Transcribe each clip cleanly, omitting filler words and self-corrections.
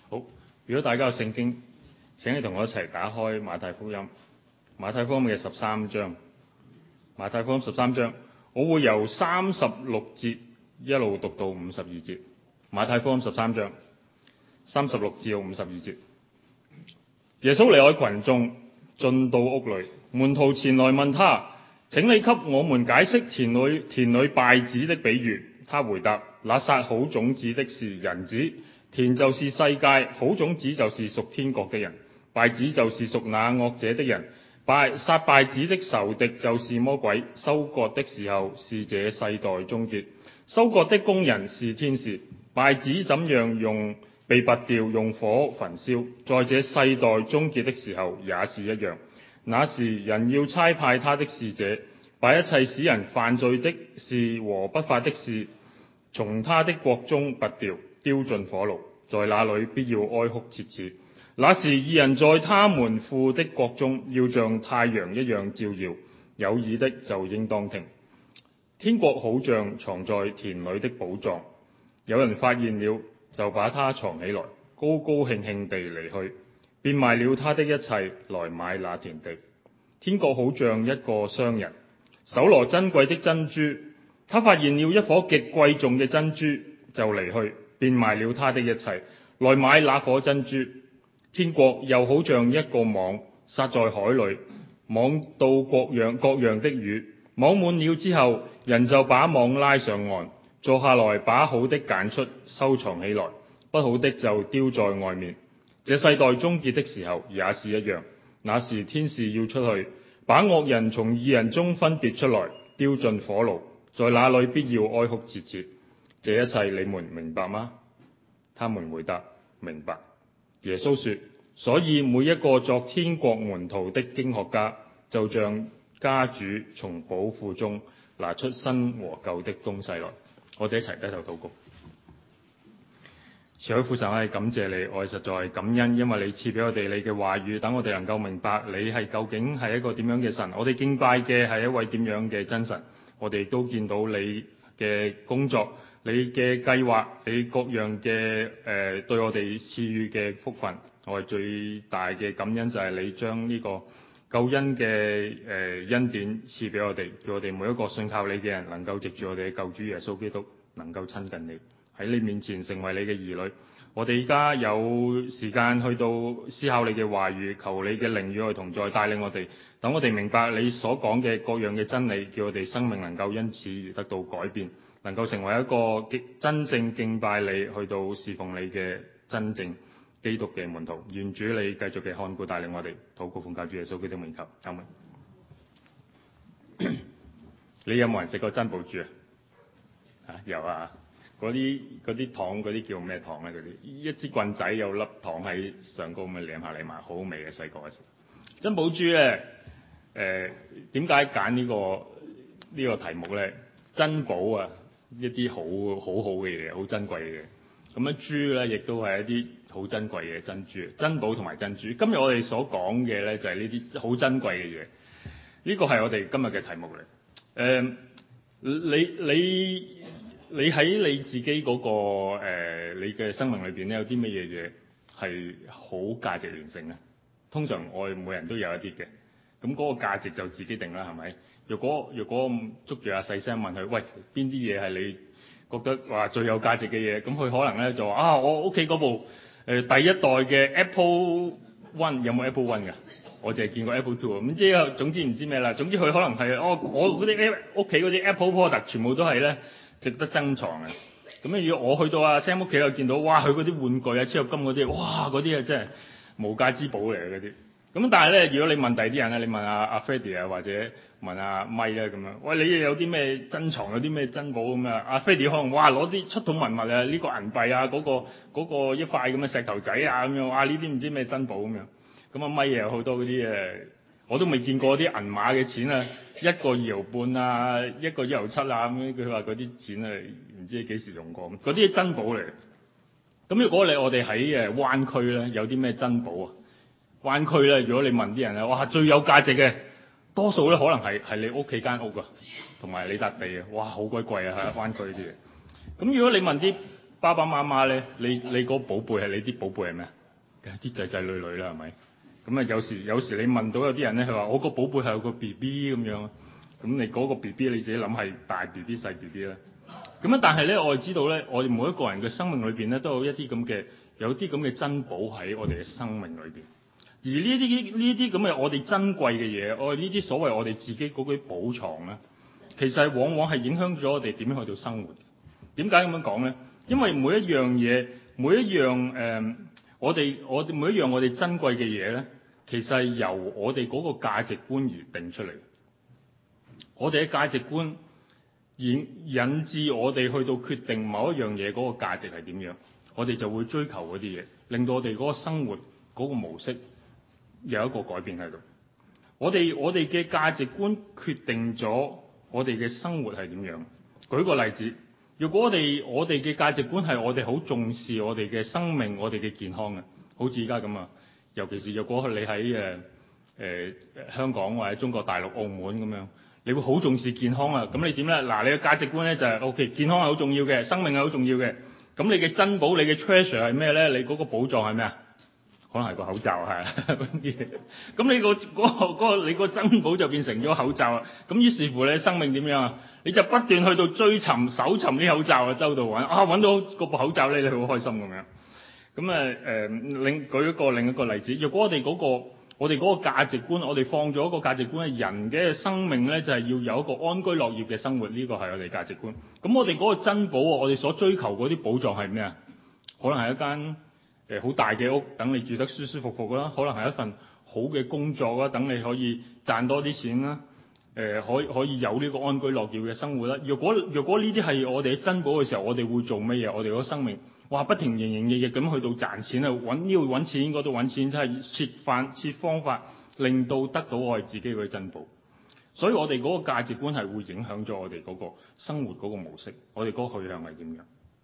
好，如果大家有聖經，請你同我一齊打開馬太福音，馬太福音嘅13章，馬太福音13章，我會由36節一路讀到52節。馬太福音13章36至到52節。耶穌離開群眾，進到屋裏，門徒前來問他：請你給我們解釋田裏稗子的比喻。他回答：那撒好種子的是人子，田就是世界，好種子就是屬天國的人，稗子就是屬那惡者的人。撒稗子的仇敵就是魔鬼。收割的時候是這世代終結，收割的工人是天使。稗子怎樣被拔掉，用火焚燒，在這世代終結的時候也是一樣。那時人要差派他的使者，把一切使人犯罪的事和不法的事從他的國中拔掉，丟進火爐，在那裏必要哀哭切齒。那時義人在他們父的國中要像太陽一樣照耀。有耳的就應當聽。天國好像藏在田裏的寶藏，有人發現了，就把它藏起來，高高興興地離去，變賣了他的一切來買那田地。天國好像一個商人，搜羅珍貴的珍珠，他發現了一顆極貴重嘅珍珠，就離去，變賣了他的一切來買那顆珍珠。天國又好像一個網，撒在海裏，網到各樣的魚，網滿了之後，人就把網拉上岸，坐下來把好的揀出，收藏起來，不好的就丟在外面。這世代終結的時候也是一樣。那時天使要出去，把惡人從義人中分別出來，丟進火爐，在那裏必要哀哭切齒。這一切你們明白嗎？他們回答：明白。耶穌說：所以每一個作天國門徒的經學家，就像家主從寶庫中拿出新和舊的東西來。我哋一齊低頭禱告。慈愛父神，我係感謝你，我係實在感恩，因為你賜俾我哋你嘅話語，等我哋能夠明白你係究竟係一個點樣嘅神，我哋敬拜嘅係一位點樣嘅真神。我哋亦都見到你嘅工作，你嘅計劃，你各樣嘅對我哋賜予嘅福分。我係最大嘅感恩就係你將呢個救恩嘅恩典賜俾我哋，叫我哋每一個信靠你嘅人能夠藉住我哋嘅救主耶穌基督能夠親近你，喺你面前成為你嘅兒女。我哋而家有時間去到思考你嘅話語，求你嘅靈與我同在，帶領我哋，等我哋明白你所講嘅各樣嘅真理，叫我哋生命能夠因此而得到改變，能夠成為一個真正敬拜你，去到侍奉你嘅真正基督嘅門徒。願主你繼續嘅看顧帶領我哋，禱告奉靠主耶穌基督名求，阿們。你有冇人食過珍寶珠啊？有啊。嗰啲糖嗰啲叫咩糖咧？嗰啲一支棍仔有粒糖喺上高，咁樣舐下舐埋，好好味嘅。細個嗰時珍寶珠咧，點解揀呢個題目咧？珍寶啊，一啲好嘅嘢，好珍貴嘅嘢。咁樣珠咧，亦都係一啲好珍貴嘅珍珠。珍寶同埋珍珠，今日我哋所講嘅咧就係呢啲好珍貴嘅嘢。呢個係我哋今日嘅題目嚟。你喺你自己嗰你嘅生命裏邊咧，有啲乜嘢嘢係好價值連城咧？通常我哋每人都有一啲嘅，咁嗰個價值就自己定啦，係咪？若果捉住阿細聲問佢，喂，邊啲嘢係你覺得話最有價值嘅嘢？咁佢可能咧就話我屋企嗰部第一代嘅 Apple One， 有冇 Apple One 㗎？我淨係見過 Apple Two， 咁即係總之唔知咩啦。總之佢可能係我嗰啲屋企嗰啲 Apple product 全部都係咧值得珍藏嘅。咁如果我去到阿 Sam 屋企又見到，哇！佢嗰啲玩具啊、超合金嗰啲，哇！嗰啲啊真係無價之寶嚟嘅嗰啲。咁但係咧，如果你問第二啲人咧，你問阿 Freddie 啊，或者問阿 Mike 咧咁樣，喂，你有啲咩珍藏，有啲咩珍寶咁啊？阿 Freddie 可能哇攞啲出土文物啊，呢個銀幣啊，嗰個一塊咁嘅石頭仔啊咁樣，哇！呢啲唔知咩珍寶咁樣。咁阿 Mike 有好多嗰啲我都未見過啲銀碼嘅錢啊，一個2毫半啊，一個1毫7啊咁樣。佢話嗰啲錢啊，唔知幾時用過，嗰啲珍寶嚟。咁如果我哋喺灣區咧，有啲咩珍寶啊？灣區咧，如果你問啲人咧，哇，最有價值嘅，多數咧可能係你屋企間屋啊，同埋你笪地啊，哇，好鬼貴啊！喺灣區啲嘢。咁如果你問啲爸爸媽媽咧，你個寶貝係你啲寶貝係咩啊？梗係啲仔仔女女啦，係咪？咁啊有時你問到有啲人咧，佢話我個寶貝係有個 BB 咁樣，咁你嗰個 BB 你自己諗係大 BB 細 BB 啦。咁啊，但係咧我哋知道咧，我哋每一個人嘅生命裏邊咧，都有啲咁嘅珍寶喺我哋嘅生命裏邊。而呢啲咁嘅我哋珍貴嘅嘢，我哋呢啲所謂我哋自己嗰啲寶藏咧，其實係往往係影響咗我哋點樣去到生活。點解咁樣講咧？因為每一樣嘢，每一樣我哋每一樣我哋珍貴嘅嘢咧，其實係由我哋嗰個價值觀而定出嚟。我哋嘅價值觀引致我哋去到決定某一樣嘢嗰個價值係點樣，我哋就會追求嗰啲嘢，令到我哋嗰個生活嗰個模式有一個改變喺度。我哋嘅價值觀決定咗我哋嘅生活係點樣。舉個例子，如果我哋嘅價值觀係我哋好重視我哋嘅生命、我哋嘅健康嘅，好似而家咁啊，尤其是若果你喺香港或者中國大陸、澳門咁樣，你會好重視健康啊。咁你點咧？嗱，你嘅價值觀咧就係 OK， 健康係好重要嘅，生命係好重要嘅。咁你嘅珍寶、你嘅 treasure 係咩咧？你嗰個寶藏係咩啊？可能係個口罩係嗰啲嘢。咁你個珍寶就變成咗口罩啊。咁於是乎你生命點樣啊？你就不斷去到追尋、搜尋啲口罩啊，周度揾揾到嗰部口罩咧，你好開心咁樣。咁舉另一個例子，若果我哋嗰個價值觀，我哋放咗一個價值觀係人嘅生命咧，就係要有一個安居樂業嘅生活，呢個係我哋價值觀。咁我哋嗰個珍寶，我哋所追求嗰啲寶藏係咩啊？可能係一間好大嘅屋，等你住得舒舒服服啦；可能係一份好嘅工作啦，等你可以賺多啲錢啦。可以有呢個安居樂業嘅生活啦。若果呢啲係我哋嘅珍寶嘅時候，我哋會做乜嘢？我哋嗰生命不停營營役役咁去到賺錢啊，揾呢度揾錢，嗰度揾錢，真係設方法令到得到我哋自己嘅珍寶。所以我哋嗰個價值觀係會影響咗我哋嗰個生活嗰個模式，我哋嗰個去向係點樣？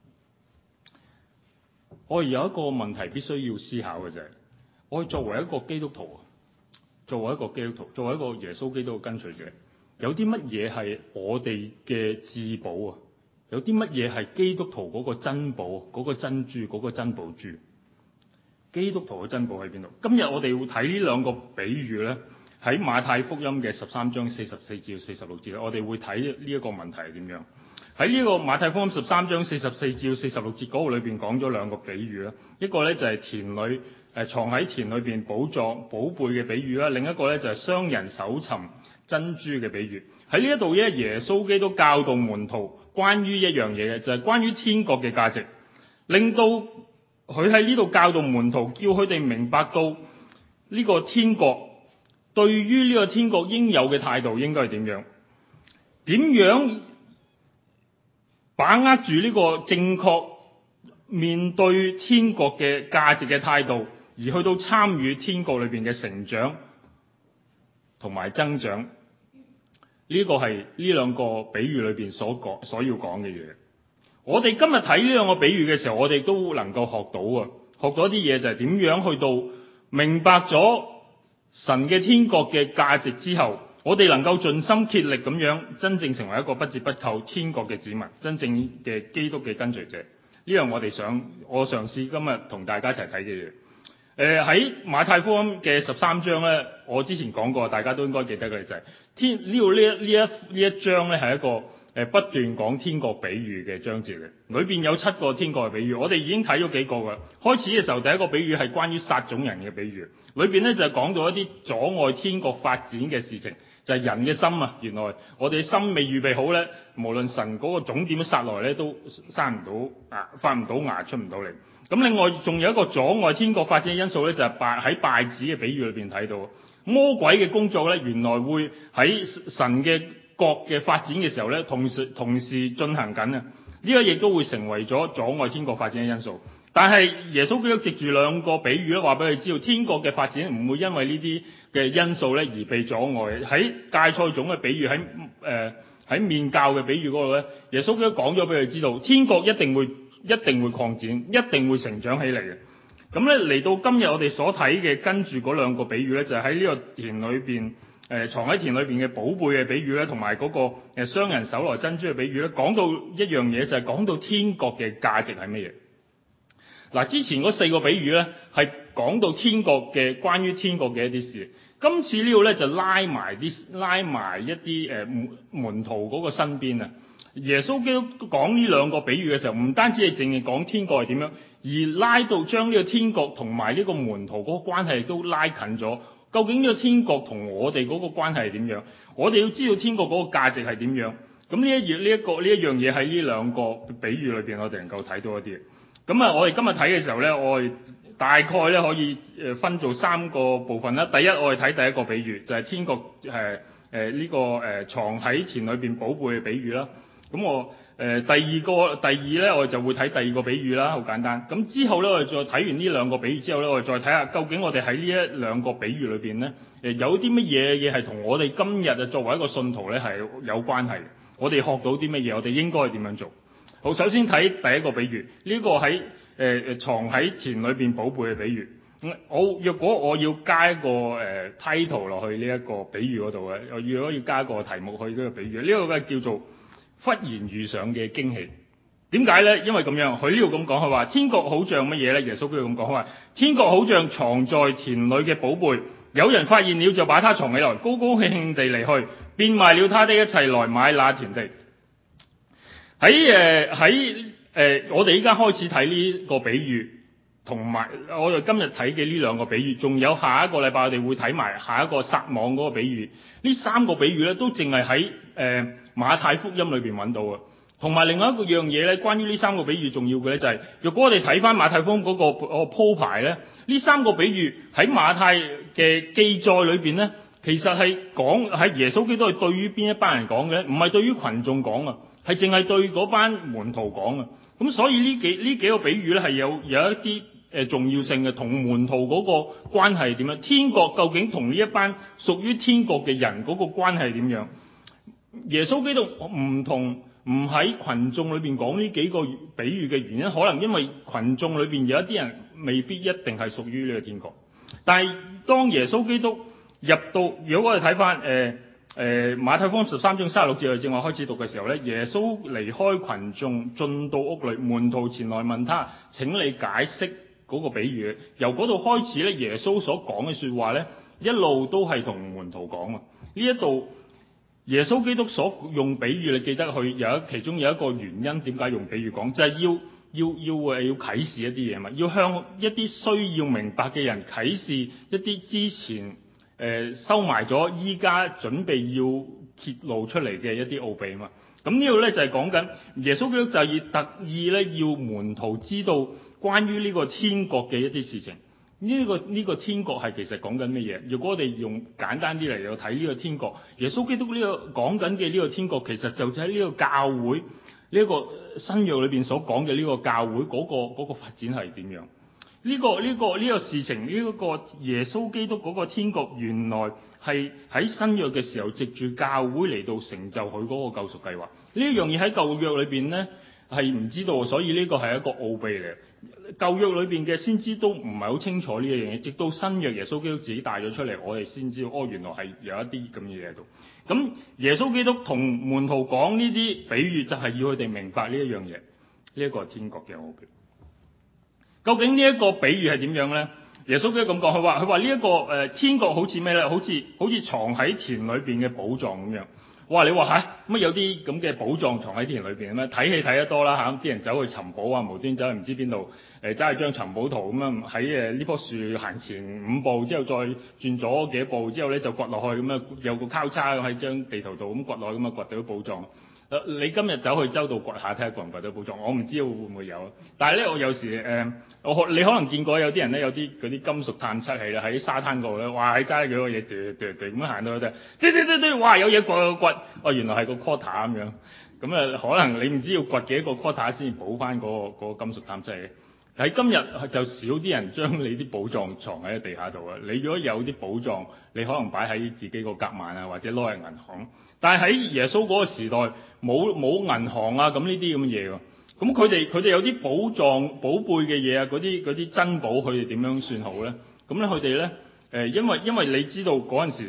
我哋有一個問題必須要思考嘅就係，我哋作為一個基督徒，作為一個耶穌基督嘅跟隨者，有啲乜嘢係我哋嘅至寶啊？有啲乜嘢係基督徒嗰個珍寶、嗰個珍珠、嗰個珍寶珠？基督徒嘅珍寶喺邊度？今日我哋會睇呢兩個比喻咧，喺馬太福音嘅13章44至46節，我哋會睇呢一個問題係點樣。喺呢個馬太福音13章44至46節嗰度裏邊講咗兩個比喻啦，一個咧就係田裏藏喺田裏邊寶貝嘅比喻啦，另一個咧就係商人搜尋珍珠嘅比喻。喺呢一度咧，耶穌基督教導門徒關於一樣嘢嘅，就係關於天國嘅價值，令到佢喺呢度教導門徒，叫佢哋明白到呢個天國，對於呢個天國應有嘅態度應該係點樣，點樣把握住呢個正確面對天國嘅價值嘅態度，而去到參與天國裏邊嘅成長同埋增長。呢個係呢兩個比喻裏邊所要講嘅嘢。我哋今日睇呢兩個比喻嘅時候，我哋都能夠學到一啲嘢，就係點樣去到明白咗神嘅天國嘅價值之後，我哋能夠盡心竭力咁樣真正成為一個不折不扣天國嘅子民，真正嘅基督嘅跟隨者。呢樣我嘗試今日同大家一齊睇嘅嘢。喺馬太福音嘅13章咧，我之前講過，大家都應該記得嘅就係呢一章咧係一個不斷講天國比喻嘅章節嚟，裏邊有7個天國嘅比喻，我哋已經睇咗幾個㗎。開始嘅時候，第一個比喻係關於撒種人嘅比喻，裏邊咧就係講到一啲阻礙天國發展嘅事情，就係人嘅心啊。原來我哋心未預備好咧，無論神嗰個種點撒來咧，都生唔到發唔到芽，出唔到嚟。咁另外仲有一個阻礙天國發展嘅因素咧，就係喺稗子嘅比喻裏邊睇到，魔鬼嘅工作咧，原來會喺神嘅國嘅發展嘅時候咧，同時進行緊啊！呢個亦都會成為咗阻礙天國發展嘅因素。但係耶穌基督藉住兩個比喻咧，話俾佢知道天國嘅發展唔會因為呢啲嘅因素咧而被阻礙。喺芥菜種嘅比喻，喺麵酵嘅比喻嗰度咧，耶穌基督講咗俾佢知道，天國一定會擴展，一定會成長起嚟嘅。咁咧嚟到今日我哋所睇嘅跟住嗰兩個比喻咧，就係喺呢個田裏邊藏喺田裏邊嘅寶貝嘅比喻咧，同埋嗰個商人搜羅珍珠嘅比喻咧，講到一樣嘢，就係講到天國嘅價值係乜嘢。嗱，之前嗰4個比喻咧係講到天國嘅關於天國嘅一啲事，今次呢度咧就拉埋一啲門徒嗰個身邊啊。耶穌基督講呢兩個比喻嘅時候，唔單止係淨係講天國係點樣，而拉到將呢個天國同埋呢個門徒嗰個關係都拉近咗。究竟呢個天國同我哋嗰個關係係點樣？我哋要知道天國嗰個價值係點樣。咁呢一樣嘢喺呢兩個比喻裏邊，我哋能夠睇到一啲。咁啊，我哋今日睇嘅時候咧，我哋大概咧可以分做3個部分啦。第一，我哋睇第一個比喻，就係天國藏喺田裏邊寶貝嘅比喻啦。咁第二咧，我哋就會睇第二個比喻啦，好簡單。咁之後咧，我哋再睇完呢兩個比喻之後咧，我哋再睇下究竟我哋喺呢一兩個比喻裏邊咧，有啲乜嘢係同我哋今日作為一個信徒咧係有關係。我哋學到啲乜嘢，我哋應該點樣做？好，首先睇第一個比喻，呢個喺藏喺田裏邊寶貝嘅比喻。若果我要加一個title 落去呢一個比喻嗰度嘅，如果要加一個題目去呢個比喻，呢個叫做忽然遇上嘅驚喜。點解呢？因為咁樣，佢呢度咁講，佢話天國好像乜嘢呢？耶穌佢咁講，佢話天國好像藏在田裏嘅寶貝，有人發現了就把它藏起來，高高興興地離去，變賣了他的一切來買那田地。喺我哋依家開始睇呢個比喻，同埋我哋今日睇嘅呢兩個比喻，仲有下一個禮拜我哋會睇埋下一個撒網嗰個比喻。呢3個比喻咧都淨係喺馬太福音裏邊揾到嘅。同埋另外一個樣嘢咧，關於呢3個比喻重要嘅咧就係，若果我哋睇翻馬太福音嗰個鋪排咧，呢3個比喻喺馬太嘅記載裏邊咧，其實係講喺耶穌基督係對於邊一班人講嘅，唔係對於群眾講啊，係淨係對嗰班門徒講啊。咁所以呢幾個比喻咧係有一啲重要性嘅，同門徒嗰個關係點樣？天國究竟同呢一班屬於天國嘅人嗰個關係點樣？耶穌基督唔喺群眾裏邊講呢幾個比喻嘅原因，可能因為群眾裏邊有一啲人未必一定係屬於呢個天國。但係當耶穌基督入到，如果我哋睇翻馬太福音13章36節，正話開始讀嘅時候咧，耶穌離開群眾進到屋裏，門徒前來問他：請你解釋嗰個比喻。由嗰度開始咧，耶穌所講嘅說話咧，一路都係同門徒講啊。呢一度耶穌基督所用比喻，你記得佢其中有一個原因，點解用比喻講，就係要啟示一啲嘢嘛，要向一啲需要明白嘅人啟示一啲之前收埋咗，依家準備要揭露出嚟嘅一啲奧秘嘛。咁呢度咧就係講緊耶穌基督就係特意咧要門徒知道關於呢個天國嘅一啲事情。呢個天國係其實講緊乜嘢？如果我哋用簡單啲嚟睇呢個天國，耶穌基督呢個講緊嘅呢個天國，其實就喺呢個教會呢個新約裏邊所講嘅呢個教會嗰個發展係點樣？呢個事情，呢個耶穌基督嗰個天國，原來係喺新約嘅時候藉住教會嚟到成就佢嗰個救贖計劃。呢一樣嘢喺舊約裏邊呢係唔知道，所以呢個係一個奧秘嚟。舊約裏邊嘅先知都唔係好清楚呢一樣嘢，直到新約耶穌基督自己帶咗出嚟，我哋先知道原來係有一啲咁嘅嘢喺度。咁耶穌基督同門徒講呢啲比喻，就係要佢哋明白呢一樣嘢，呢一個係天國嘅奧秘。究竟呢一個比喻係點樣呢？耶穌基督咁講，佢話呢一個天國好似咩呢？好似藏喺田裏邊嘅寶藏咁樣。哇！你話嚇乜有啲咁嘅寶藏藏喺田裏邊咩？睇戲睇得多啦嚇，啲人走去尋寶啊，無端走去唔知邊度揸去張尋寶圖咁樣，喺呢棵樹行前5步之後再轉左幾步之後咧就掘落去咁樣，有個交叉喺張地圖度咁掘落去咁啊，掘到寶藏。你今日走去周度掘下睇下掘唔掘到寶藏？我唔知會唔會有，但係咧我有時你可能見過有啲人咧有啲嗰啲金屬探測器啦，喺沙灘嗰度咧，哇！喺揸幾個嘢咁樣行到去啫，哇！有嘢掘，原來係個 quarter 咁樣。咁可能你唔知要掘幾多個 quarter 先至補翻嗰個金屬探測器。喺今日就少啲人將你啲寶藏藏喺地下度啊！你如果有啲寶藏，你可能擺喺自己個夾萬啊，或者攞去銀行。但係喺耶穌嗰個時代，冇銀行啊，咁呢啲咁嘅嘢喎。咁佢哋有啲寶藏、寶貝嘅嘢啊，嗰啲珍寶，佢哋點樣算好咧？咁咧佢哋咧因為你知道嗰陣時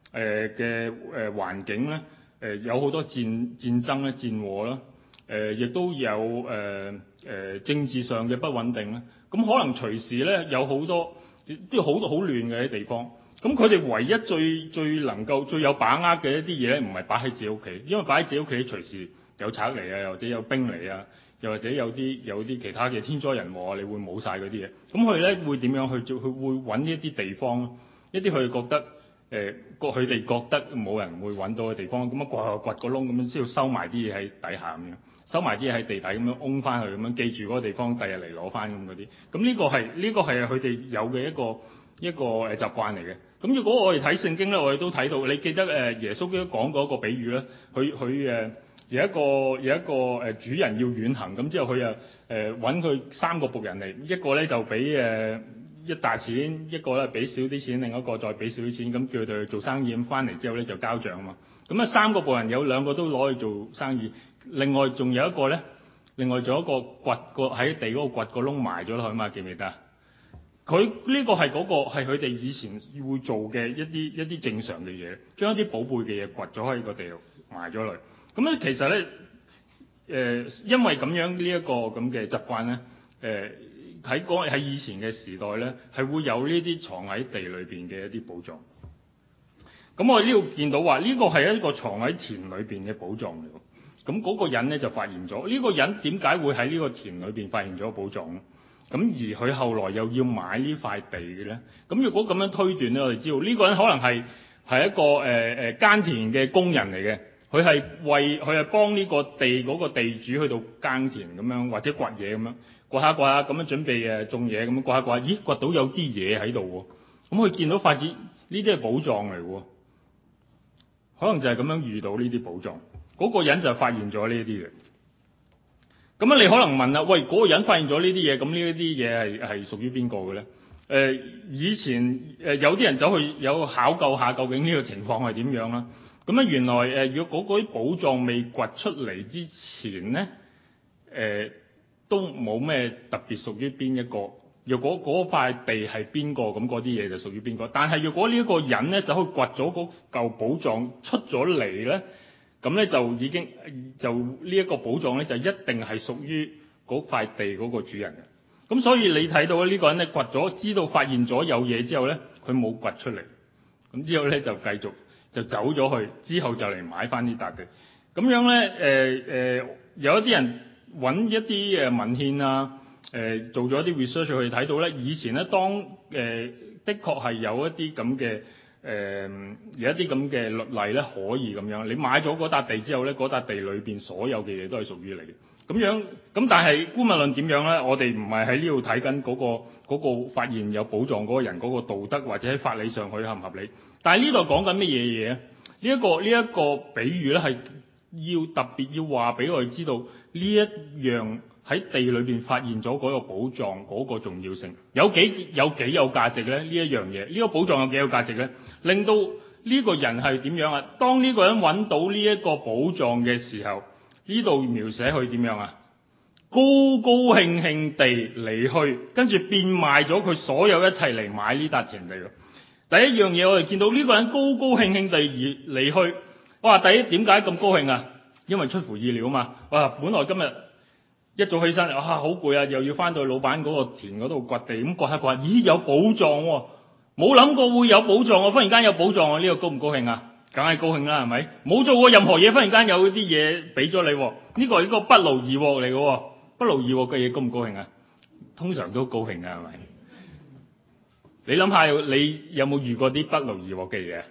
環境咧，有好多戰爭咧、戰禍啦，亦都有政治上嘅不穩定啦。咁可能隨時咧有好多都好亂嘅啲地方。咁佢哋唯一最能夠最有把握嘅一啲嘢咧，唔係擺喺自己屋企，因為擺喺自己屋企隨時有賊嚟啊，又或者有兵嚟啊，又或者有啲其他嘅天災人禍，你會冇晒嗰啲嘢。咁佢咧會點樣去做？佢會揾一啲地方，一啲佢覺得佢哋覺得冇人會揾到嘅地方，咁樣掘個窿咁樣，先要收埋啲嘢喺底下咁樣，收埋啲嘢喺地底咁樣擁翻去咁樣，記住嗰個地方，第日嚟攞翻咁嗰啲。咁呢個係佢哋有嘅一個習慣嚟嘅。咁如果我哋睇聖經咧，我哋都睇到，你記得耶穌基督講過一個比喻咧，佢有一個主人要遠行，咁之後佢揾佢3個僕人嚟，一個咧就俾一大錢，一個咧俾少啲錢，另一個再俾少啲錢，咁叫佢哋去做生意，咁翻嚟之後咧就交帳啊嘛。咁啊3個僕人有2個都攞去做生意，另外仲有一個咧，掘喺地嗰度掘個窿埋咗落去嘛，記唔記得啊？佢呢個係佢哋以前會做嘅一啲正常嘅嘢，將一啲寶貝嘅嘢掘咗喺個地度埋咗落去。咁咧其實咧因為咁樣呢一個咁嘅習慣咧，喺以前嘅時代咧係會有呢啲藏喺地裏邊嘅一啲寶藏。咁我呢度見到話呢個係一個藏喺田裏邊嘅寶藏嚟喎。咁嗰個人咧就發現咗，呢個人點解會喺呢個田裏邊發現咗寶藏咧？咁而佢後來又要買呢塊地嘅咧？咁如果咁樣推斷咧，我哋知道呢個人可能係一個耕田嘅工人嚟嘅，佢係幫呢個地嗰個地主去到耕田咁樣，或者掘嘢咁樣，掘下咁樣準備種嘢咁樣，掘下，咦掘到有啲嘢喺度喎，咁佢見到發現呢啲係寶藏嚟喎，可能就係咁樣遇到呢啲寶藏，嗰個人就發現咗呢啲嘅。咁你可能問啦，喂，嗰個人發現咗呢啲嘢，咁呢一啲嘢係屬於邊個嘅咧？以前有啲人走去有考究下究竟呢個情況係點樣啦。咁原來如果嗰啲寶藏未掘出嚟之前咧，都冇咩特別屬於邊一個。若果嗰塊地係邊個，咁嗰啲嘢就屬於邊個。但係若果呢一個人咧走去掘咗嗰嚿寶藏出咗嚟咧，咁咧就已經呢一個寶藏咧就一定係屬於嗰塊地嗰個主人嘅。咁所以你睇到呢個人咧掘咗，知道發現咗有嘢之後咧，佢冇掘出嚟，咁之後咧就繼續就走咗去，之後就嚟買翻呢笪地。咁樣咧有一啲人揾一啲文獻啊，做咗一啲 research 去睇到咧，以前咧當的確係有一啲咁嘅。有一啲咁嘅律例咧，可以咁樣。你買咗嗰笪地之後咧，嗰笪地裏邊所有嘅嘢都係屬於你。咁樣咁，但係姑勿論點樣咧？我哋唔係喺呢度睇緊嗰個發現有寶藏嗰個人嗰個道德或者喺法理上佢合唔合理。但係呢度講緊乜嘢嘢咧？呢一個比喻咧係要特別要話俾我哋知道呢一樣。喺地裏邊發現咗嗰個寶藏嗰個重要性，有幾有價值咧？呢一樣嘢，呢個寶藏有幾有價值咧？令到呢個人係點樣啊？當呢個人揾到呢一個寶藏嘅時候，呢度描寫佢點樣啊？高高興興地離去，跟住變賣咗佢所有一切嚟買呢笪田地。第一樣嘢我哋見到呢個人高高興興地而離去，哇！第一點解咁高興啊？因為出乎意料啊嘛！哇！本來今日一早起身，好攰啊！又要翻到去老闆嗰個田嗰度掘地，咁掘下掘下，咦有寶藏喎！冇諗過會有寶藏喎，忽然間有寶藏喎，呢個高唔高興啊？梗係高興啦，係咪？冇做過任何嘢，忽然間有啲嘢俾咗你，呢個係一個不勞而獲嚟嘅，不勞而獲嘅嘢高唔高興啊？通常都高興啊，係咪？你諗下，你有冇遇過啲不勞而獲嘅嘢？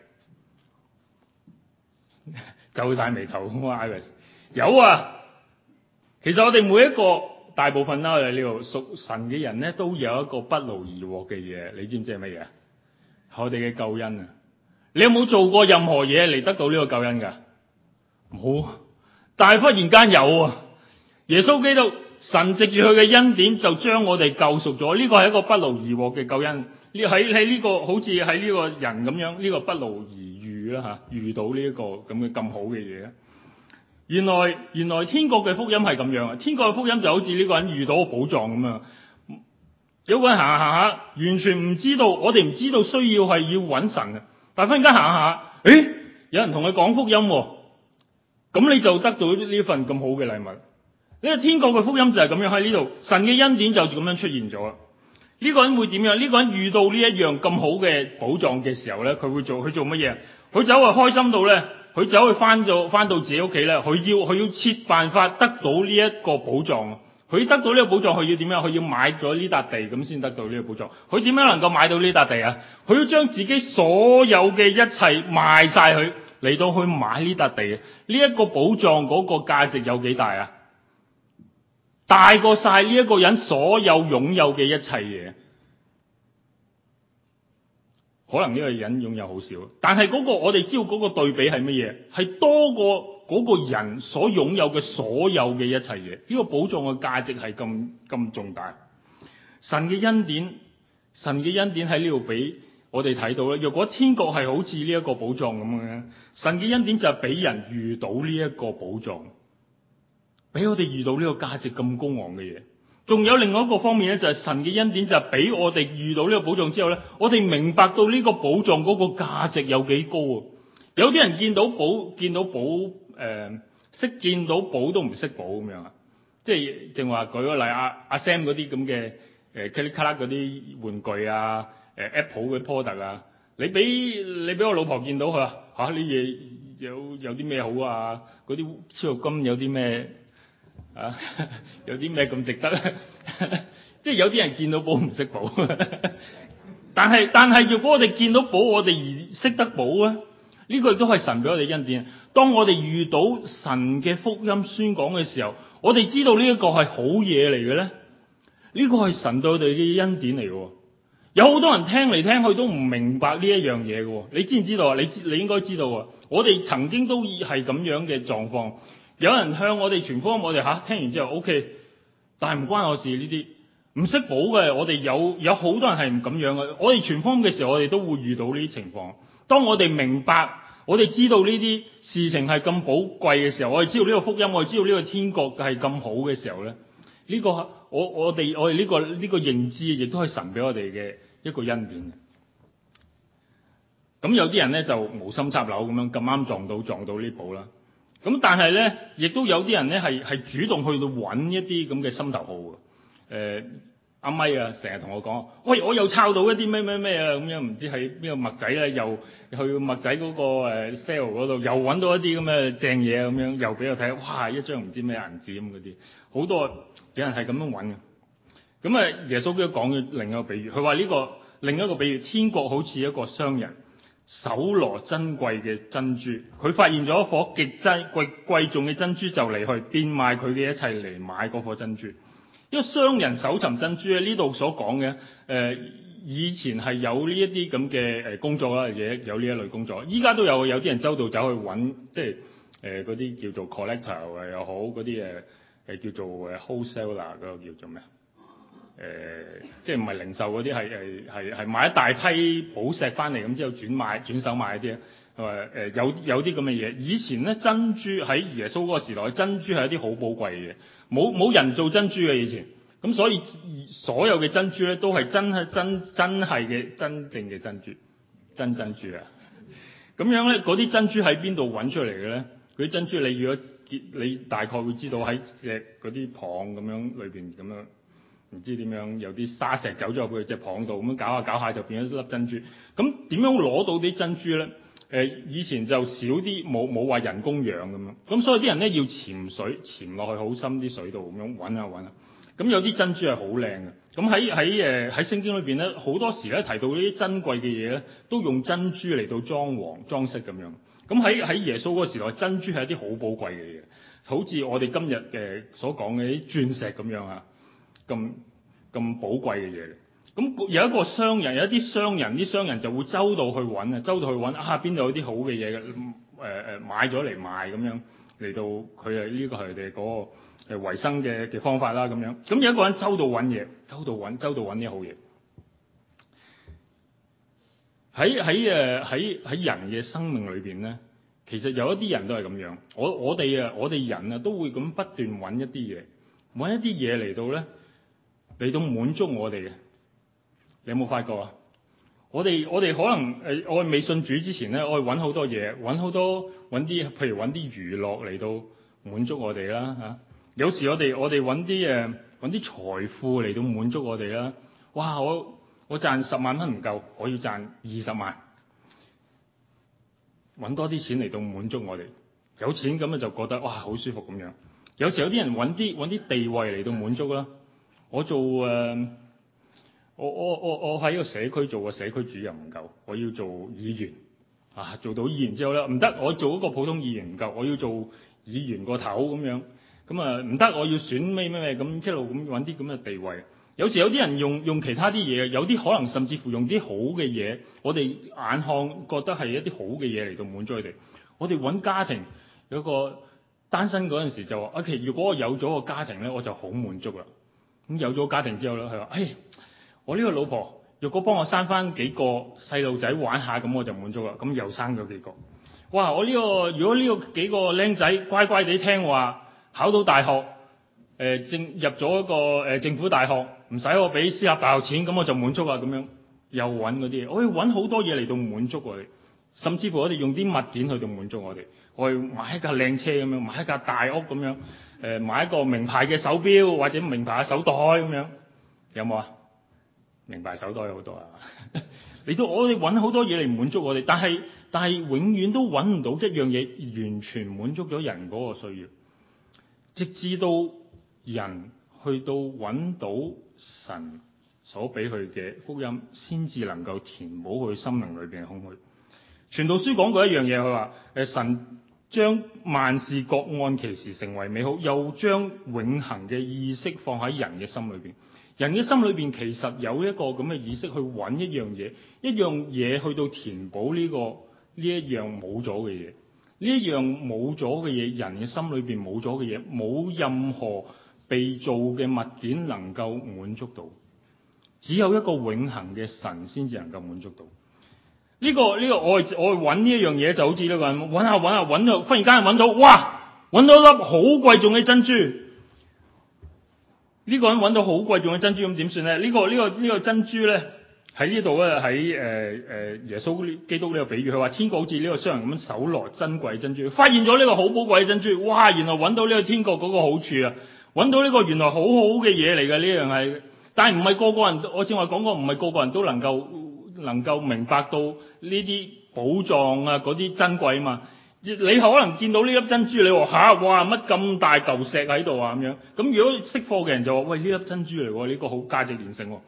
皺晒眉頭，Iris 有啊。其實我哋每一個大部分啦，我哋呢度屬神嘅人咧，都有一個不勞而獲嘅嘢，你知唔知係乜嘢？我哋嘅救恩啊！你有冇做過任何嘢嚟得到呢個救恩㗎？冇，但係忽然間有啊！耶穌基督神藉住佢嘅恩典就將我哋救贖咗，呢個係一個不勞而獲嘅救恩。喺呢個好似喺呢個人咁樣，呢個不勞而遇啦嚇，遇到呢一個咁好嘅嘢。原來天國嘅福音係咁樣啊！天國嘅福音就好似呢個人遇到個寶藏咁樣，有個人行下，完全唔知道，我哋唔知道需要係要揾神啊！但係忽然間行下， 誒，有人同佢講福音喎，咁你就得到呢份咁好嘅禮物。呢個天國嘅福音就係咁樣喺呢度，神嘅恩典就咁樣出現咗啦。呢個人會點樣？呢個人遇到呢一樣咁好嘅寶藏嘅時候咧，佢做乜嘢？佢走去開心到咧，佢走去翻到自己屋企咧，佢要設辦法得到呢一個寶藏。佢得到呢個寶藏，佢要點樣？佢要買咗呢笪地咁先得到呢個寶藏。佢點樣能夠買到呢笪地啊？佢要將自己所有嘅一切賣晒佢，嚟到去買呢笪地。呢一個寶藏嗰個價值有幾大啊？大過晒呢一個人所有擁有嘅一切嘢。可能呢個人擁有好少，但係嗰個我哋知道嗰個對比係乜嘢？係多過嗰個人所擁有嘅所有嘅一切嘢。呢個寶藏嘅價值係咁重大。神嘅恩典喺呢度俾我哋睇到咧。若果天國係好似呢一個寶藏咁樣，神嘅恩典就係俾人遇到呢一個寶藏，俾我哋遇到呢個價值咁高昂嘅嘢。仲有另外一個方面咧，就係神嘅恩典就係俾我哋遇到呢個寶藏之後咧，我哋明白到呢個寶藏嗰個價值有幾高啊！有啲人見到寶識見到寶都唔識寶咁樣啊！即係正話舉個例，阿 Sam 嗰啲咁嘅噼里卡啦嗰啲玩具啊，Apple 嘅 product 啊，你俾我老婆見到佢話嚇呢嘢有啲咩好啊？嗰啲超合金有啲咩？有啲咩咁值得咧？即係有啲人見到寶唔識寶，但係如果我哋見到寶，我哋而識得寶咧，呢個亦都係神俾我哋恩典。當我哋遇到神嘅福音宣講嘅時候，我哋知道呢一個係好嘢嚟嘅咧，呢個係神對我哋嘅恩典嚟嘅。有好多人聽嚟聽去都唔明白呢一樣嘢嘅，你知唔知道啊？你應該知道啊！我哋曾經都係咁樣嘅狀況。有人向我哋傳福音，我哋聽完之後 OK， 但係唔關我事呢啲，唔識寶嘅，我哋有好多人係唔咁樣嘅。我哋傳福音嘅時候，我哋都會遇到呢啲情況。當我哋明白，我哋知道呢啲事情係咁寶貴嘅時候，我哋知道呢個福音，我哋知道呢個天國係咁好嘅時候咧，呢個我哋呢個認知，亦都係神俾我哋嘅一個恩典。咁有啲人咧就無心插柳咁樣咁啱撞到呢寶啦。咁但係咧，亦都有啲人咧係主動去到揾一啲咁嘅心頭好嘅。阿咪啊，成日同我講，喂，我又抄到一啲咩啊咁樣，唔知喺邊個麥仔咧，又去麥仔嗰個sale 嗰度，又揾到一啲咁嘅正嘢咁樣，又俾我睇，哇！一張唔知咩銀紙咁嗰啲，好多有人係咁樣揾嘅。咁啊，耶穌基督講嘅另一個比喻，佢話呢個另一個比喻，天國好似一個商人，搜羅珍貴嘅珍珠，佢發現咗一顆極貴重嘅珍珠，就嚟去變賣佢嘅一切嚟買嗰顆珍珠。因為商人搜尋珍珠咧，呢度所講嘅以前係有呢一啲咁嘅工作啦，有呢一類工作，依家都有啲人周到走去揾，即係嗰啲叫做 collector 又好，嗰啲叫做wholesaler 嗰個叫做咩？即係唔係零售嗰啲，係買一大批寶石翻嚟咁之後轉手賣一啲有啲咁嘅嘢。以前咧，珍珠喺耶穌嗰個時代，珍珠係一啲好寶貴嘅嘢，冇人做珍珠嘅以前，咁所以所有嘅珍珠咧都係真正嘅珍珠，真珍珠啊！咁樣咧，嗰啲珍珠喺邊度揾出嚟嘅咧？嗰啲珍珠你大概會知道喺隻嗰啲蚌咁樣裏邊咁樣。唔知點樣有啲沙石走咗入去隻蚌度，咁樣搞下就變咗一粒珍珠。咁點樣攞到啲珍珠咧？以前就少啲，冇話人工養咁樣。咁所以啲人咧要潛水潛落去好深啲水度咁樣揾下。咁有啲珍珠係好靚嘅。咁喺聖經裏邊咧，好多時咧提到呢啲珍貴嘅嘢咧，都用珍珠嚟到裝飾咁樣。咁喺耶穌嗰個時代，珍珠係一啲好寶貴嘅嘢，好似我哋今日嘅所講嘅啲鑽石咁樣啊。咁寶貴嘅嘢，咁有一個商人，有一啲啲商人就會周到去揾邊度有啲好嘅嘢嘅，買咗嚟賣咁樣，嚟到佢呢個係佢哋嗰個維生嘅方法啦咁樣。咁有一個人周到揾嘢，周到揾啲好嘢。喺人嘅生命裏邊咧，其實有一啲人都係咁樣。我哋人啊都會咁不斷揾一啲嘢嚟到咧。嚟到滿足我哋嘅，你有冇發覺啊？ 我哋可能我哋未信主之前咧，我哋揾好多嘢，揾啲譬如揾啲娛樂嚟到滿足我哋啦嚇。有時我哋揾啲財富嚟到滿足我哋啦。哇！我賺10萬蚊唔夠，我要賺20萬，揾多啲錢嚟到滿足我哋。有錢咁就覺得哇好舒服咁樣。有時有啲人揾啲地位嚟到滿足啦。我做我喺個社區做個社區主任唔夠，我要做議員啊！做到議員之後咧唔得，我做一個普通議員唔夠，我要做議員個頭咁樣。咁啊唔得，我要選咩咁一路咁揾啲咁嘅地位。有時有啲人用其他啲嘢，有啲可能甚至乎用啲好嘅嘢，我哋眼看覺得係一啲好嘅嘢嚟到滿足佢哋。我哋揾家庭，有個單身嗰陣時就話：如果我有咗個家庭咧，我就好滿足啦。咁有咗家庭之後咧，佢話：我呢個老婆若果幫我生翻幾個細路仔玩下，咁我就滿足啦。咁又生咗幾個。哇！如果呢個幾個僆仔乖乖地聽話，考到大學，入咗一個政府大學，唔使我俾私立大學錢，咁我就滿足啦。咁樣又揾嗰啲嘢，我要揾好多嘢嚟到滿足我哋，甚至乎我哋用啲物件去到滿足我哋。我要買一架靚車咁樣，買一架大屋咁樣，買一個名牌嘅手錶或者名牌嘅手袋咁樣，有冇啊？名牌手袋有好多啊！嚟到我哋揾好多嘢嚟滿足我哋，但係永遠都揾唔到一樣嘢完全滿足咗人嗰個需要，直至到人去到揾到神所俾佢嘅福音，先至能夠填補佢心靈裏邊嘅空虛。傳道書講過一樣嘢，佢話神將萬事各按其時成為美好，又將永恆嘅意識放喺人嘅心裏邊。人嘅心裏邊其實有一個咁嘅意識去揾一樣嘢去到填補呢一樣冇咗嘅嘢。呢一樣冇咗嘅嘢，人嘅心裏邊冇咗嘅嘢，冇任何被造嘅物件能夠滿足到，只有一個永恆嘅神先至能夠滿足到。呢個我揾呢一樣嘢，就好似呢個人揾下揾到，忽然間揾到，哇！揾到一粒好貴重嘅珍珠。呢個人揾到好貴重嘅珍珠，咁點算咧？呢個珍珠咧喺呢度咧，喺耶穌基督呢個比喻，佢話天國好似呢個商人咁樣搜羅珍貴珍珠，發現咗呢個好寶貴嘅珍珠，哇！原來揾到呢個天國嗰個好處啊！揾到呢個原來好好嘅嘢嚟嘅，呢樣係，但係唔係個個人，我正話講過，唔係個個人都能夠明白到呢啲寶藏啊嗰啲珍貴啊嘛。你可能見到呢粒珍珠，你話哇乜咁大嚿石喺度啊咁樣。咁如果識貨嘅人就話：喂，呢粒珍珠嚟喎，呢個好價值連城喎。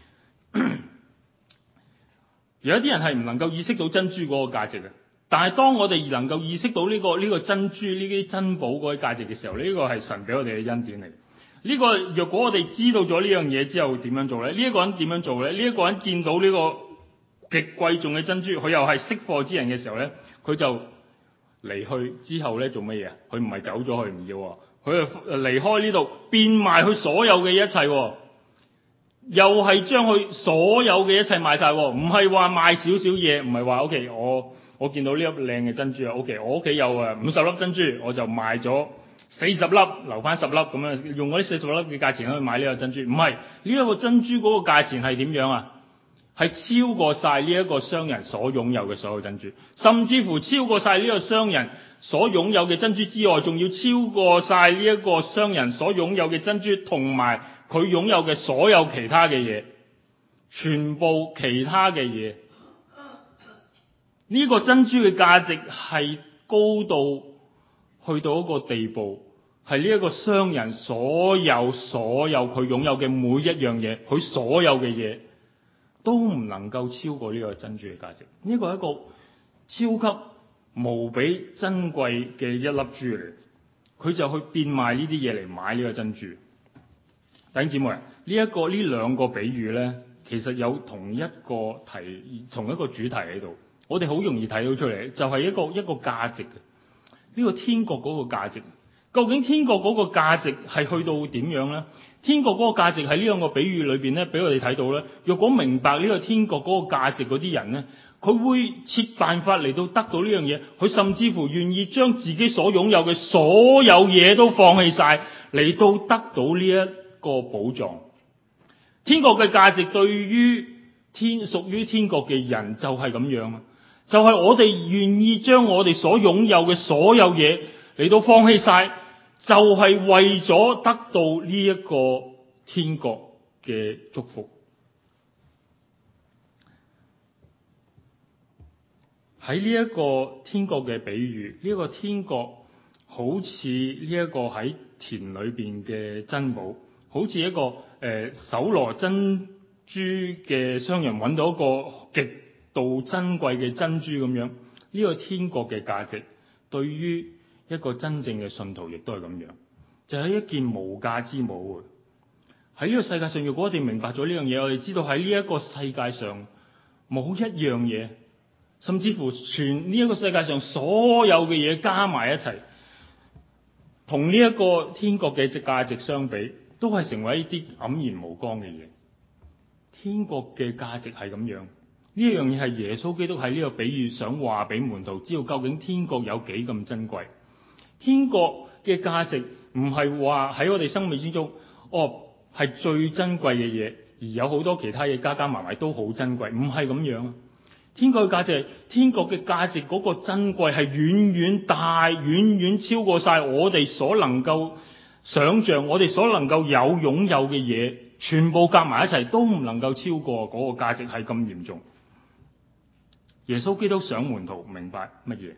有一啲人係唔能夠意識到珍珠嗰個價值嘅，但係當我哋能夠意識到呢個珍珠呢啲珍寶嗰啲價值嘅時候，呢個係神俾我哋嘅恩典嚟。呢個若果我哋知道咗呢樣嘢之後點樣做咧？呢一個人點樣做咧？呢一個人見到呢個極貴重嘅珍珠，佢又係識貨之人嘅時候咧，佢就離去之後咧做乜嘢啊？佢唔係走咗去唔要，佢就離開呢度，變賣佢所有嘅一切，又係將佢所有嘅一切賣晒，唔係話賣少少嘢，唔係話 OK， 我見到呢粒靚嘅珍珠啊 ，OK， 我屋企有50粒珍珠，我就賣咗40粒，留翻10粒咁樣，用嗰啲40粒嘅價錢去買呢個珍珠。唔係，呢一個珍珠嗰個價錢係點樣啊？係超過晒呢一個商人所擁有嘅所有珍珠，甚至乎超過晒呢個商人所擁有嘅珍珠之外，仲要超過晒呢一個商人所擁有嘅珍珠，同埋佢擁有嘅所有其他嘅嘢，全部其他嘅嘢。呢個珍珠嘅價值係高到去到一個地步，係呢一個商人所有佢擁有嘅每一樣嘢，佢所有嘅嘢都唔能夠超過呢個珍珠嘅價值。呢個係一個超級無比珍貴嘅一粒珠嚟，佢就去變賣呢啲嘢嚟買呢個珍珠。弟兄姊妹，呢兩個比喻咧，其實有同一個主題喺度，我哋好容易睇到出嚟，就係一個價值嘅。呢個天國嗰個價值，究竟天國嗰個價值係去到點樣咧？天國嗰個價值喺呢兩個比喻裏邊咧，俾我哋睇到咧。若果明白呢個天國嗰個價值嗰啲人咧，佢會設辦法嚟到得到呢樣嘢，佢甚至乎願意將自己所擁有嘅所有嘢都放棄晒，嚟到得到呢一個寶藏。天國嘅價值對於屬於天國嘅人就係咁樣啊，就係我哋願意將我哋所擁有嘅所有嘢嚟到放棄晒，就係為咗得到呢一個天國嘅祝福。喺呢一個天國嘅比喻，呢一個天國好似呢一個喺田裏邊嘅珍寶，好似一個搜羅珍珠嘅商人揾到一個極度珍貴嘅珍珠咁樣。呢個天國嘅價值對於一個真正嘅信徒亦都係咁樣，就係一件無價之寶。喺呢個世界上，如果我哋明白咗呢樣嘢，我哋知道喺呢一個世界上冇一樣嘢，甚至乎全呢一個世界上所有嘅嘢加埋一齊，同呢一個天國嘅價值相比，都係成為一啲黯然無光嘅嘢。天國嘅價值係咁樣，呢一樣嘢係耶穌基督喺呢個比喻想話俾門徒知道，究竟天國有幾咁珍貴。天國嘅價值唔係話喺我哋生命之中，係最珍貴嘅嘢，而有好多其他嘢加加埋埋都好珍貴，唔係咁樣啊！天國嘅價值係，天國嘅價值嗰個珍貴係遠遠大，遠遠超過晒我哋所能夠想象，我哋所能夠擁有嘅嘢，全部夾埋一齊都唔能夠超過嗰個價值，係咁嚴重。耶穌基督想門徒明白乜嘢？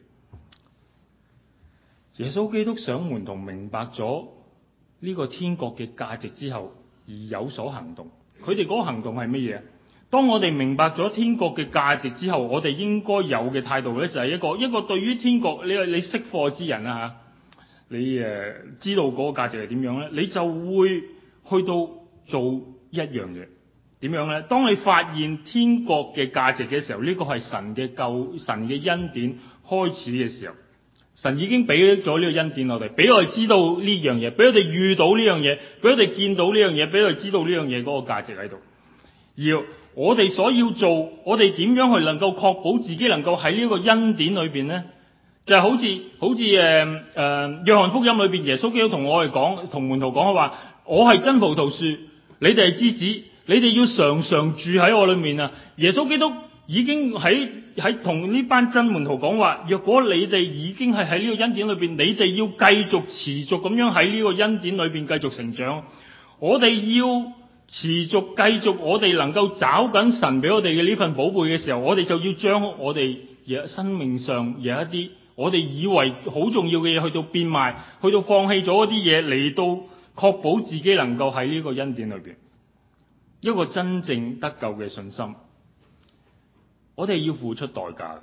耶穌基督想門徒明白咗呢個天國嘅價值之後，而有所行動。佢哋嗰個行動係乜嘢？當我哋明白咗天國嘅價值之後，我哋應該有嘅態度咧，就係一個對於天國，你識貨之人啊嚇，你知道嗰個價值係點樣咧，你就會去到做一樣嘢。點樣咧？當你發現天國嘅價值嘅時候，呢個係神嘅恩典開始嘅時候。神已經俾咗呢個恩典我哋，俾我哋知道呢樣嘢，俾我哋遇到呢樣嘢，俾我哋見到呢樣嘢，俾我哋知道呢樣嘢嗰個價值喺度。而我哋所要做，我哋點樣去能夠確保自己能夠喺呢個恩典裏邊呢？就係好似約翰福音裏邊耶穌基督同我哋講，同門徒講話，我係真葡萄樹，你哋係枝子，你哋要常常住喺我裏面啊！耶穌基督已經喺同呢班真門徒講話，若果你哋已經係喺呢個恩典裏邊，你哋要繼續持續咁樣喺呢個恩典裏邊繼續成長。我哋要持續繼續，我哋能夠找緊神俾我哋嘅呢份寶貝嘅時候，我哋就要將我哋生命上有一啲我哋以為好重要嘅嘢，去到變賣，去到放棄咗一啲嘢，嚟到確保自己能夠喺呢個恩典裏邊一個真正得救嘅信心。我哋要付出代價。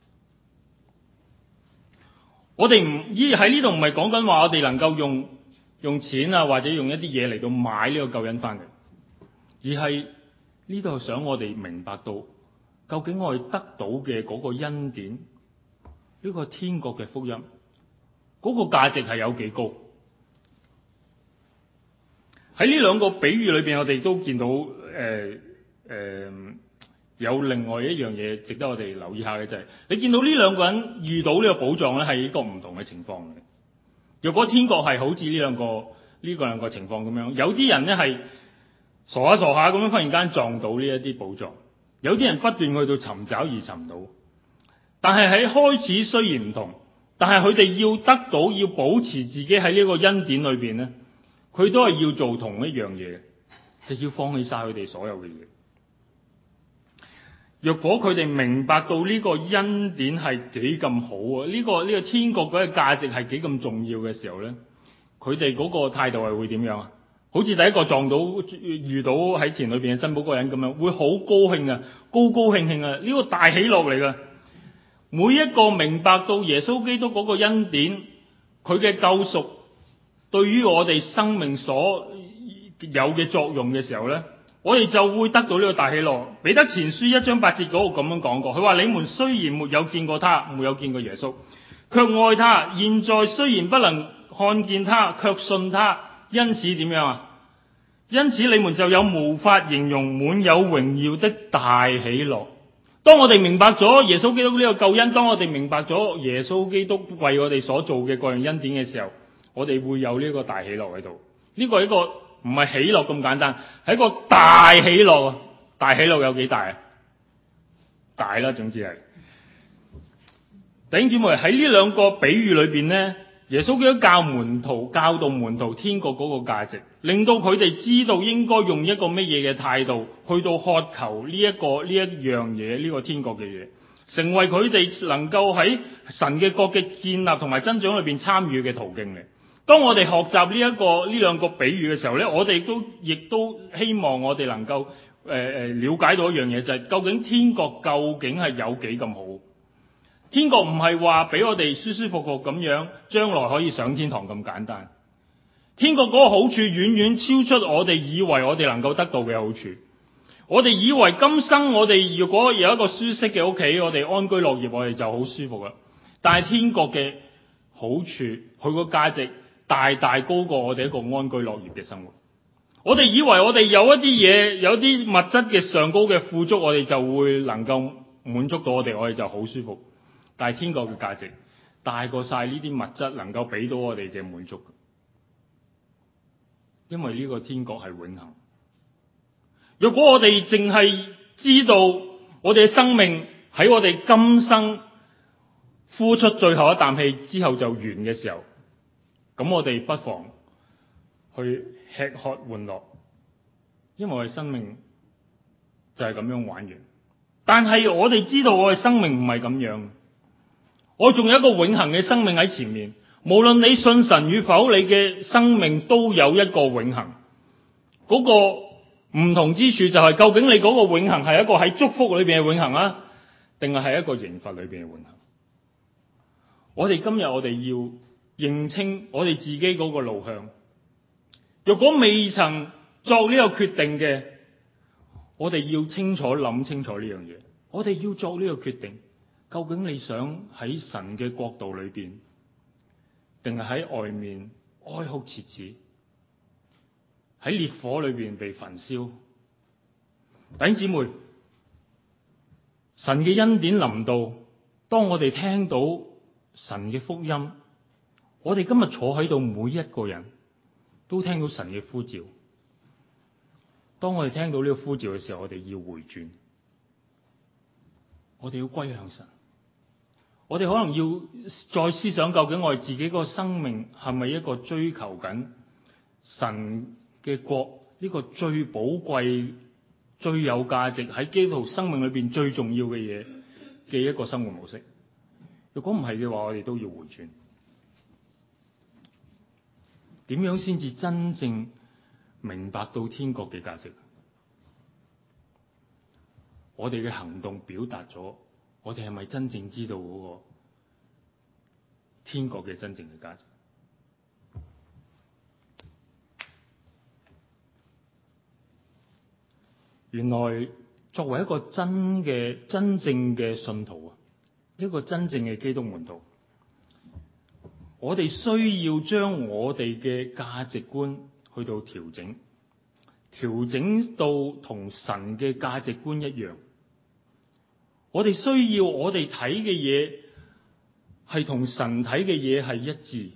我哋喺呢度唔係講緊話我哋能夠用錢啊，或者用一啲嘢嚟到買呢個救恩翻嚟，而係呢度想我哋明白到，究竟我哋得到嘅嗰個恩典，呢個天國嘅福音，嗰個價值係有幾高？喺呢兩個比喻裏邊，我哋都見到有另外一樣嘢值得我哋留意下嘅，就係你見到呢兩個人遇到呢個寶藏咧，係一個唔同嘅情況嘅。若果天國係好似呢兩個情況咁樣，有啲人咧係傻下咁樣忽然間撞到呢一啲寶藏，有啲人不斷去到尋找而尋唔到。但係喺開始雖然唔同，但係佢哋要得到，要保持自己喺呢個恩典裏邊咧，佢都係要做同一樣嘢，就要放棄晒佢哋所有嘅嘢。若果佢哋明白到呢個恩典係幾咁好啊，呢個天國嗰個價值係幾咁重要嘅時候咧，佢哋嗰個態度係會點樣啊？好似第一個遇到喺田裏邊嘅珍寶嗰個人咁樣，會好高興啊，高興啊！呢個大喜樂嚟噶。每一個明白到耶穌基督嗰個恩典，佢嘅救贖對於我哋生命所有嘅作用嘅時候咧，我哋就會得到呢個大喜樂。彼得前書1章8節嗰度咁樣講過，佢話：你們雖然沒有見過他，沒有見過耶穌，卻愛他；現在雖然不能看見他，卻信他。因此點樣啊？因此你們就有無法形容滿有榮耀的大喜樂。當我哋明白咗耶穌基督呢個救恩，當我哋明白咗耶穌基督為我哋所做嘅各樣恩典嘅時候，我哋會有呢個大喜樂喺度。呢個係一個唔係喜樂咁簡單，係一個大喜樂。大喜樂有幾大啊？ 大啦，總之係。弟兄姊妹，喺呢兩個比喻裏邊呢，耶穌基督教導門徒天國嗰個價值，令到佢哋知道應該用一個乜嘢嘅態度去到渴求呢一樣嘢，呢個天國嘅嘢，成為佢哋能夠喺神嘅國嘅建立同埋增長裏邊參與嘅途徑嚟。當我哋學習呢兩個比喻嘅時候呢，我哋亦都希望我哋能夠了解到一樣嘢，就係究竟天國究竟係有幾咁好？天國唔係話俾我哋舒舒服服咁樣，將來可以上天堂咁簡單。天國嗰個好處遠遠超出我哋以為我哋能夠得到嘅好處。我哋以為今生我哋如果有一個舒適嘅屋企，我哋安居樂業，我哋就好舒服啦。但係天國嘅好處，佢個價值大大高過我哋一個安居樂業嘅生活。我哋以為我哋有一啲嘢，有啲物質嘅上高嘅富足，我哋就會能夠滿足到我哋就好舒服。但係天國嘅價值大過晒呢啲物質能夠俾到我哋嘅滿足，因為呢個天國係永恆。如果我哋淨係知道我哋嘅生命喺我哋今生呼出最後一啖氣之後就完嘅時候，咁我哋不妨去吃喝玩樂，因為我哋生命就係咁樣玩完。但係我哋知道我哋生命唔係咁樣。我仲有一個永恆嘅生命喺前面，無論你信神與否，你嘅生命都有一個永恆。嗰個唔同之處就係，究竟你嗰個永恆係一個喺祝福裏邊嘅永恆啊，定係一個刑罰裏邊嘅永恆？我哋今日我哋要認清我哋自己嗰個路向。若果未曾作呢個決定嘅，我哋要清楚諗清楚呢樣嘢。我哋要作呢個決定。究竟你想喺神嘅國度裏邊，定係喺外面哀哭切齒，喺烈火裏邊被焚燒？弟兄姊妹，神嘅恩典臨到，當我哋聽到神嘅福音，我哋今日坐喺度每一個人都聽到神嘅呼召。當我哋聽到呢個呼召嘅時候，我哋要回轉，我哋要歸向神。我哋可能要再思想，究竟我哋自己個生命係咪一個追求緊神嘅國呢個最寶貴、最有價值喺基督徒生命裏邊最重要嘅嘢嘅一個生活模式？如果唔係嘅話，我哋都要回轉。點樣先至真正明白到天國嘅價值？我哋嘅行動表達咗，我哋係咪真正知道嗰個天國嘅真正嘅價值？原來作為一個真正嘅信徒啊，一個真正嘅基督門徒，我哋需要將我哋嘅價值觀去到調整到同神嘅價值觀一樣。我哋需要我哋睇嘅嘢係同神睇嘅嘢係一致。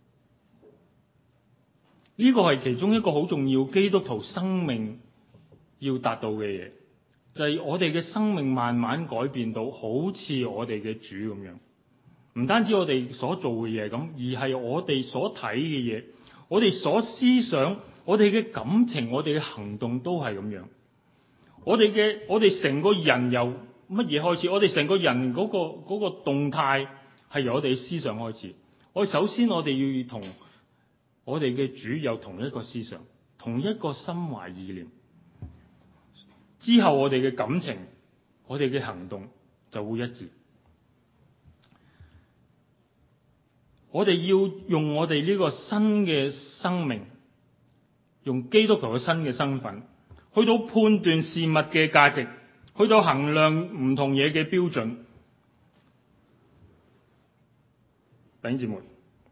呢個係其中一個好重要基督徒生命要達到嘅嘢，就係我哋嘅生命慢慢改變到好似我哋嘅主咁樣。唔單止我哋所做嘅嘢咁，而係我哋所睇嘅嘢，我哋所思想，我哋嘅感情，我哋嘅行動都係咁樣。我哋成個人由乜嘢開始？我哋成個人嗰個動態係由我哋嘅思想開始。首先我哋要同我哋嘅主有同一個思想，同一個心懷意念。之後我哋嘅感情，我哋嘅行動就會一致。我哋要用我哋呢個新嘅生命，用基督徒嘅新嘅身份，去到判斷事物嘅價值，去到衡量唔同嘢嘅標準。弟兄姊妹，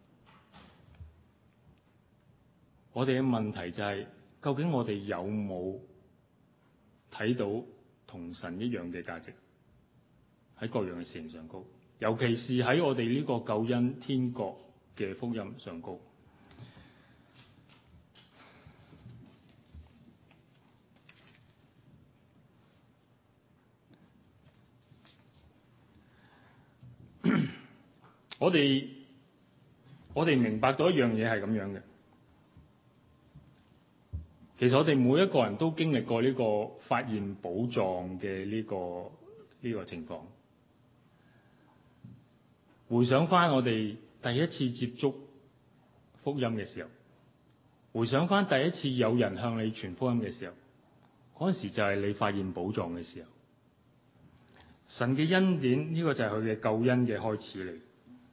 我哋嘅問題就係，究竟我哋有冇睇到同神一樣嘅價值喺各樣嘅事情上高？尤其是喺我哋呢個救恩天國嘅福音上高。 我哋明白到一樣嘢係咁樣嘅。其實我哋每一個人都經歷過呢個發現寶藏嘅呢個情況。回想翻我哋第一次接觸福音嘅時候，回想翻第一次有人向你傳福音嘅時候，嗰陣時就係你發現寶藏嘅時候。神嘅恩典呢個就係佢嘅救恩嘅開始嚟。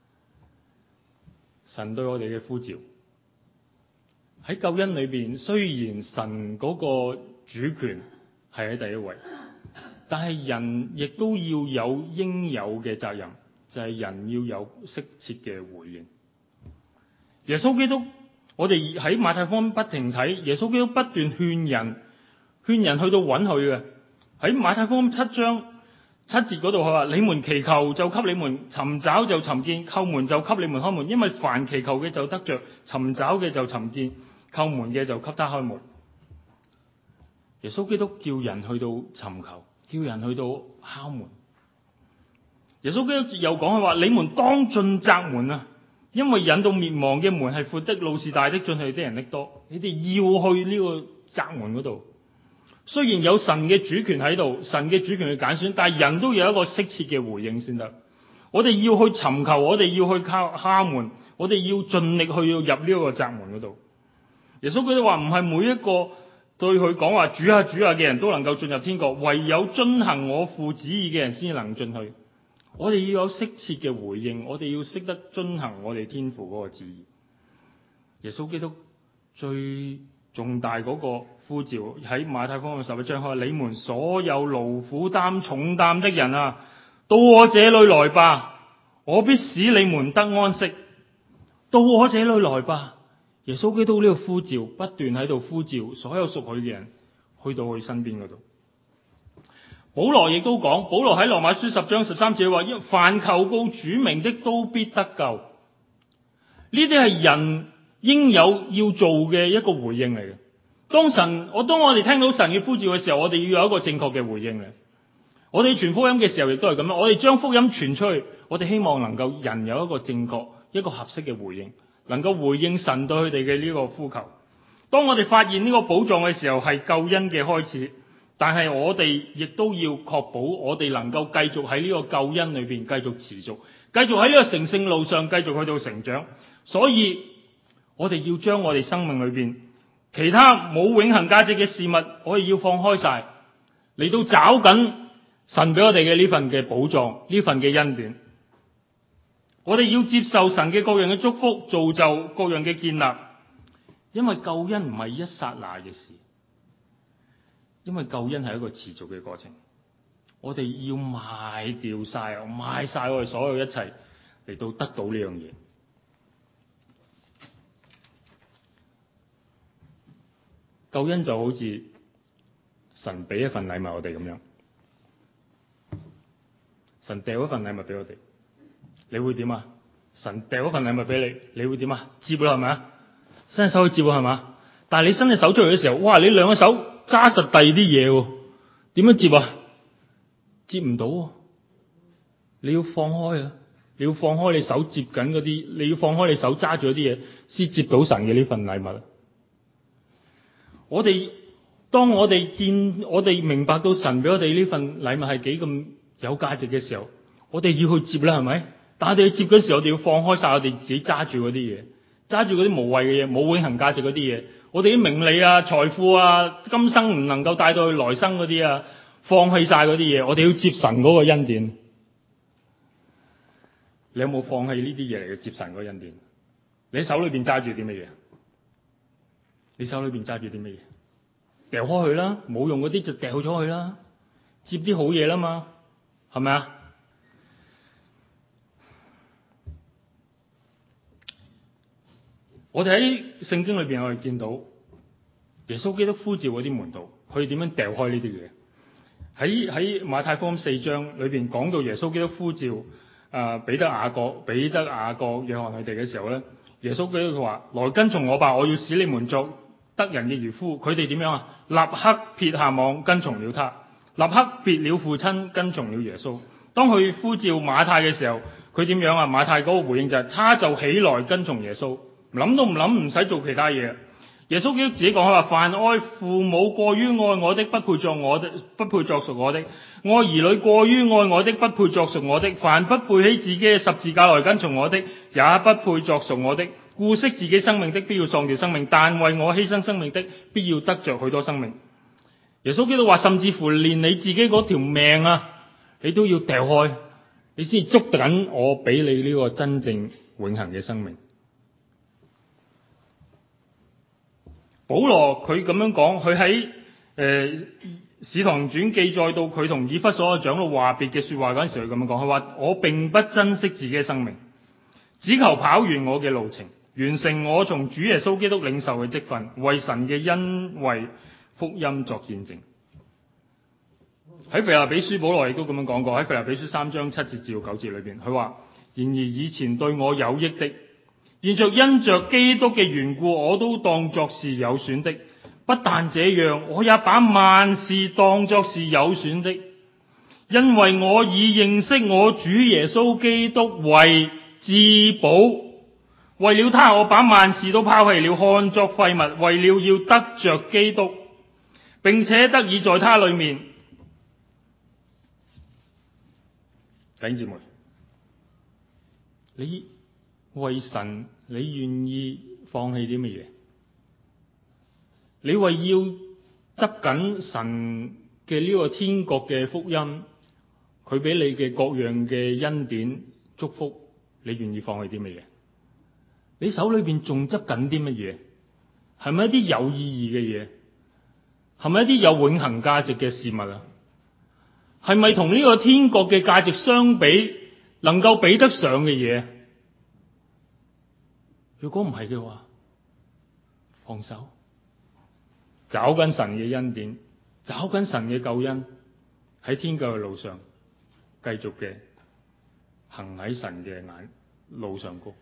神對我哋嘅呼召喺救恩裏邊，雖然神嗰個主權係喺第一位，但係人亦都要有應有嘅責任，就係人要有適切嘅回應。耶穌基督，我哋喺馬太福音不停睇，耶穌基督不斷勸人去到揾佢嘅。喺馬太福音7章7節嗰度，佢話：你們祈求就給你們，尋找就尋見，叩門就給你們開門。因為凡祈求嘅就得着，尋找嘅就尋見，叩門嘅就給他開門。耶穌基督叫人去到尋求，叫人去到敲門。耶穌基督又講佢話：你們當進窄門啊！因為引到滅亡嘅門係闊的，路是大的，進去的人的多。你哋要去呢個窄門嗰度。雖然有神嘅主權喺度，神嘅主權去揀選，但係人都有一個適切嘅回應先得。我哋要去尋求，我哋要去敲門，我哋要盡力去要入呢個窄門嗰度。耶穌基督話：唔係每一個對佢講話主啊主啊嘅人都能夠進入天國，唯有遵行我父旨意嘅人先能進去。我哋要有適切嘅回應，我哋要識得遵行我哋天父嗰個旨意。耶穌基督最重大嗰個呼召喺馬太福音11章，佢話：你們所有勞苦擔重擔的人啊，到我這裏來吧，我必使你們得安息。到我這裏來吧。耶穌基督呢個呼召不斷喺度呼召所有屬佢嘅人去到佢身邊嗰度。保羅亦都講，保羅喺羅馬書10章13節話：凡求告主名的都必得救。呢啲係人應有要做嘅一個回應嚟嘅。當我哋聽到神嘅呼召嘅時候，我哋要有一個正確嘅回應嚟。我哋傳福音嘅時候亦都係咁樣，我哋將福音傳出去，我哋希望能夠人有一個正確、一個合適嘅回應，能夠回應神對佢哋嘅呢個呼求。當我哋發現呢個寶藏嘅時候，係救恩嘅開始。但係我哋亦都要確保我哋能夠繼續喺呢個救恩裏邊繼續持續，繼續喺呢個成聖路上繼續去到成長。所以我哋要將我哋生命裏邊其他冇永恆價值嘅事物，我哋要放開晒，嚟到找緊神俾我哋嘅呢份嘅寶藏，呢份嘅恩典。我哋要接受神嘅各樣嘅祝福，造就各樣嘅建立，因為救恩唔係一剎那嘅事。因為救恩係一個持續嘅過程，我哋要賣掉晒我哋所有一切嚟到得到呢樣嘢。救恩就好似神俾一份禮物我哋咁樣，神掉一份禮物俾我哋，你會點啊？神掉一份禮物俾你，你會點啊？接啦係咪啊？伸手去接係嘛？但係你伸隻手出嚟嘅時候，哇！你兩個手揸實第二啲嘢喎，點樣接啊？接唔到喎，你要放開啊！你要放開你手接緊嗰啲，你要放開你手揸住嗰啲嘢，先接到神嘅呢份禮物。當我哋明白到神俾我哋呢份禮物係幾咁有價值嘅時候，我哋要去接啦，係咪？但係我哋去接嗰時候，我哋要放開晒我哋自己揸住嗰啲嘢，揸住嗰啲無謂嘅嘢，冇永恆價值嗰啲嘢。我哋啲名利啊、財富啊、今生唔能夠帶到去來生嗰啲啊，放棄晒嗰啲嘢，我哋要接神嗰個恩典。你有冇放棄呢啲嘢嚟接神嗰個恩典？你手裏邊揸住啲乜嘢？你手裏邊揸住啲乜嘢？掉開去啦，冇用嗰啲就掉咗去啦，接啲好嘢啦嘛，係咪啊？我哋喺聖經裏邊，我哋見到耶穌基督呼召嗰啲門徒，佢點樣掉開呢啲嘢？喺馬太福音4章裏邊講到耶穌基督呼召彼得、雅各、約翰佢哋嘅時候咧，耶穌基督佢話：來跟從我吧，我要使你們作得人嘅漁夫。佢哋點樣啊？立刻撇下網跟從了他，立刻別了父親跟從了耶穌。 當佢呼召馬太嘅時候，佢點樣啊？馬太嗰個回應就係、他就起來跟從耶穌，諗都唔諗，唔使做其他嘢。耶穌基督自己講佢話：凡愛父母過於愛我的，不配作屬我的；愛兒女過於愛我的，不配作屬我的。凡不背起自己嘅十字架來跟從我的，也不配作屬我的。顧惜自己生命的，必要喪掉生命；但為我犧牲生命的，必要得着許多生命。耶穌基督話：甚至乎連你自己嗰條命啊，你都要掉開，你先捉緊我俾你呢個真正永恆嘅生命。保羅佢咁樣講，佢喺使徒行傳記載到佢同以弗所嘅長老話別嘅說話嗰陣時，佢咁樣講，佢話：我並不珍惜自己嘅生命，只求跑完我嘅路程，完成我從主耶穌基督領受嘅職分，為神嘅恩惠福音作見證。喺腓立比書，保羅亦都咁樣講過，喺腓立比書3章7節至9節裏邊，佢話：然而以前對我有益的，現在因着基督嘅緣故，我都當作是有損的。不但這樣，我也把萬事當作是有損的，因為我以認識我主耶穌基督為至寶。為了他，我把萬事都拋棄了，看作廢物，為了要得着基督，並且得以在他裏面。弟兄姊妹，你為神，你願意放棄啲乜嘢？你為要執緊神嘅呢個天國嘅福音，佢俾你嘅各樣嘅恩典祝福，你願意放棄啲乜嘢？你手裏邊仲執緊啲乜嘢？係咪一啲有意義嘅嘢？係咪一啲有永恆價值嘅事物啊？係咪同呢個天國嘅價值相比，能夠比得上嘅嘢？如果唔係嘅話，放手，找緊神嘅恩典，找緊神嘅救恩，喺天救嘅路上，繼續嘅行喺神嘅路上高。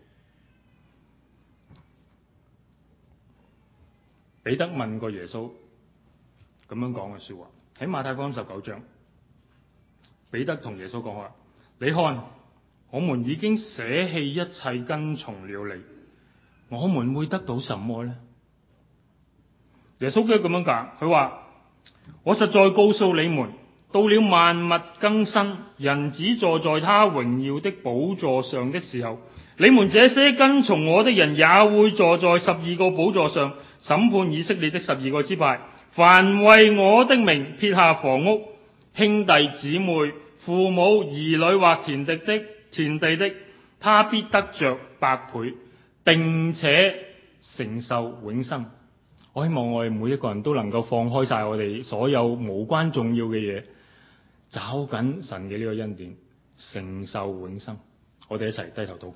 彼得問過耶穌咁樣講嘅說話，喺馬太福音19章，彼得同耶穌講話：你看，我們已經捨棄一切跟從了你，我們會得到什麼呢？耶穌基督咁樣講，佢話：我實在告訴你們，到了萬物更新，人子坐在他榮耀的寶座上的時候，你們這些跟從我的人也會坐在12個寶座上，審判以色列的12個支派。凡為我的名撇下房屋、兄弟姊妹、父母、兒女或田地的，他必得着百倍，並且承受永生。我希望我哋每一個人都能夠放開晒我哋所有無關重要嘅嘢，找緊神嘅呢個恩典，承受永生。我哋一齊低頭禱告。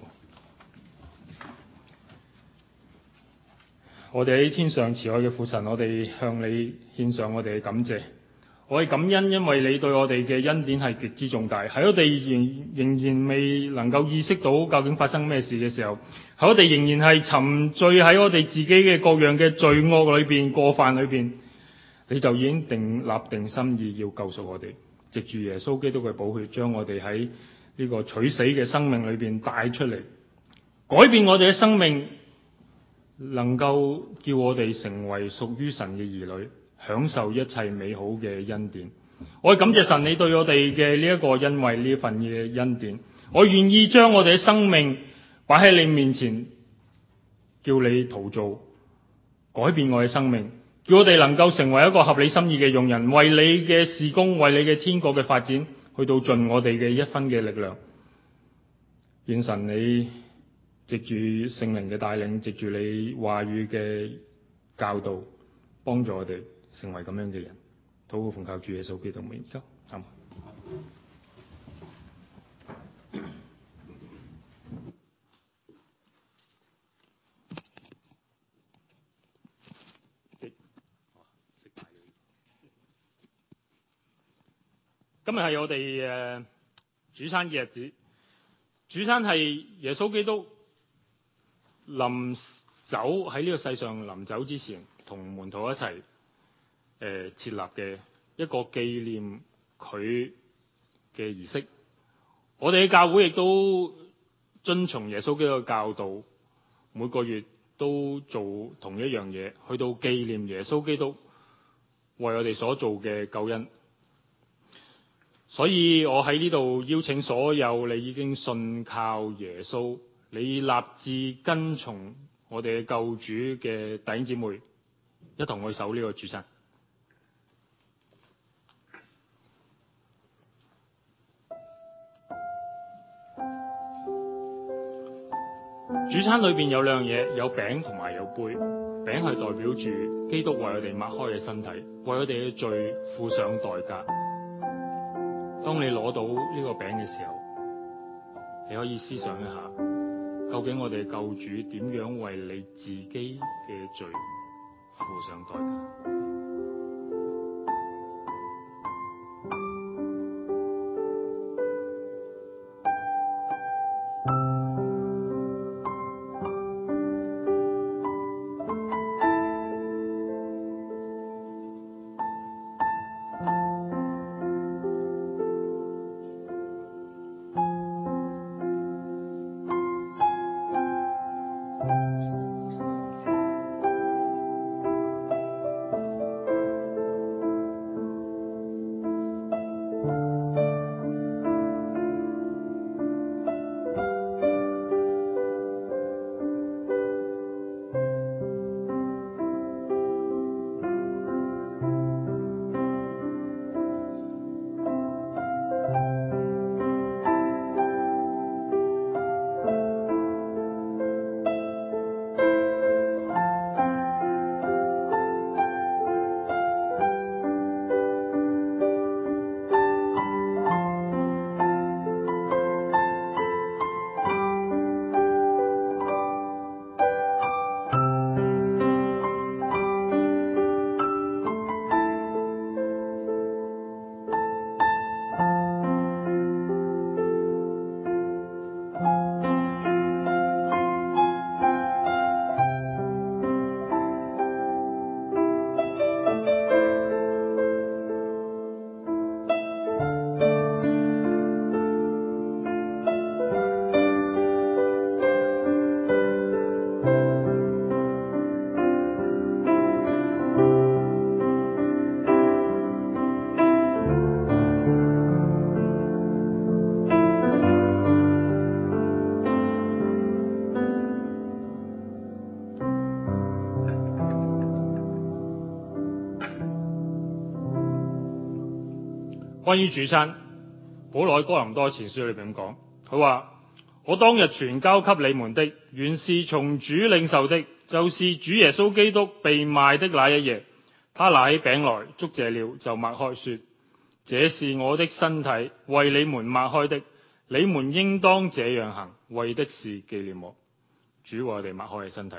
我哋喺天上慈愛嘅父神，我哋向你獻上我哋嘅感謝。我哋感恩，因為你對我哋嘅恩典係極之重大。喺我哋仍然未能夠意識到究竟發生咩事嘅時候，喺我哋仍然係沉醉喺我哋自己嘅各樣嘅罪惡裏邊、過犯裏邊，你就已經立定心意要救贖我哋，藉住耶穌基督嘅寶血，將我哋喺呢個取死嘅生命裏邊帶出嚟，改變我哋嘅生命，能夠叫我哋成為屬於神嘅兒女，享受一切美好嘅恩典。我感謝神，你對我哋嘅呢一個恩惠，呢份嘅恩典，我願意將我哋嘅生命擺喺你面前，叫你陶造，改變我嘅生命，叫我哋能夠成為一個合理心意嘅用人，為你嘅事工，為你嘅天國嘅發展，去到盡我哋嘅一分嘅力量。願神你藉住聖靈嘅帶領，藉住你話語嘅教導，幫助我哋成為咁樣嘅人。禱告奉靠主耶穌基督名求，阿們。今日係我哋主餐嘅日子，主餐係耶穌基督臨走喺呢個世上臨走之前，同門徒一齊設立嘅一個紀念佢嘅儀式， 我哋嘅教會亦都遵從耶穌基督嘅教導，每個月都做同一樣嘢，去到紀念耶穌基督為我哋所做嘅救恩。所以我喺呢度邀請所有你已經信靠耶穌，你立志跟從我哋嘅救主嘅弟兄姊妹，一同去守呢個主餐。主餐裏邊有兩樣嘢，有餅同埋有杯。餅係代表住基督為我哋擘開嘅身體，為我哋嘅罪付上代價。當你攞到呢個餅嘅時候，你可以思想一下，究竟我哋嘅救主點樣為你自己嘅罪付上代價？關於主餐，保羅喺哥林多前書裏邊咁講，佢話：我當日傳交給你們的，原是從主領受的，就是主耶穌基督被賣的那一夜，他拿起餅來，祝謝了，就擘開說：這是我的身體，為你們擘開的，你們應當這樣行，為的是紀念我。主為我哋擘開嘅身體。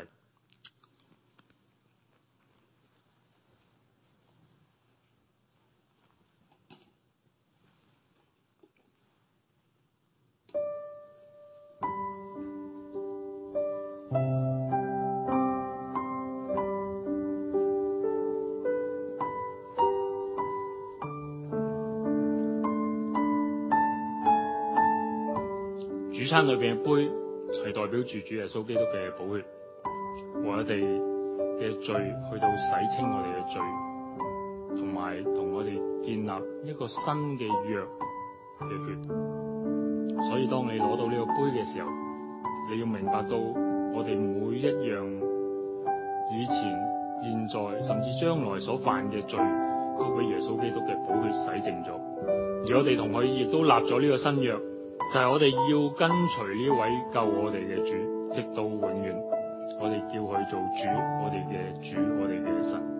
主餐裏邊嘅杯係代表住主耶穌基督嘅寶血，為我哋嘅罪去到洗清我哋嘅罪，同埋同我哋建立一個新嘅約嘅血。所以當你攞到呢個杯嘅時候，你要明白到我哋每一樣以前、現在甚至將來所犯嘅罪，都俾耶穌基督嘅寶血洗淨咗。而我哋同佢亦都立咗呢個新約，就係我哋要跟隨呢位救我哋嘅主，直到永遠。我哋叫佢做主，我哋嘅主，我哋嘅神。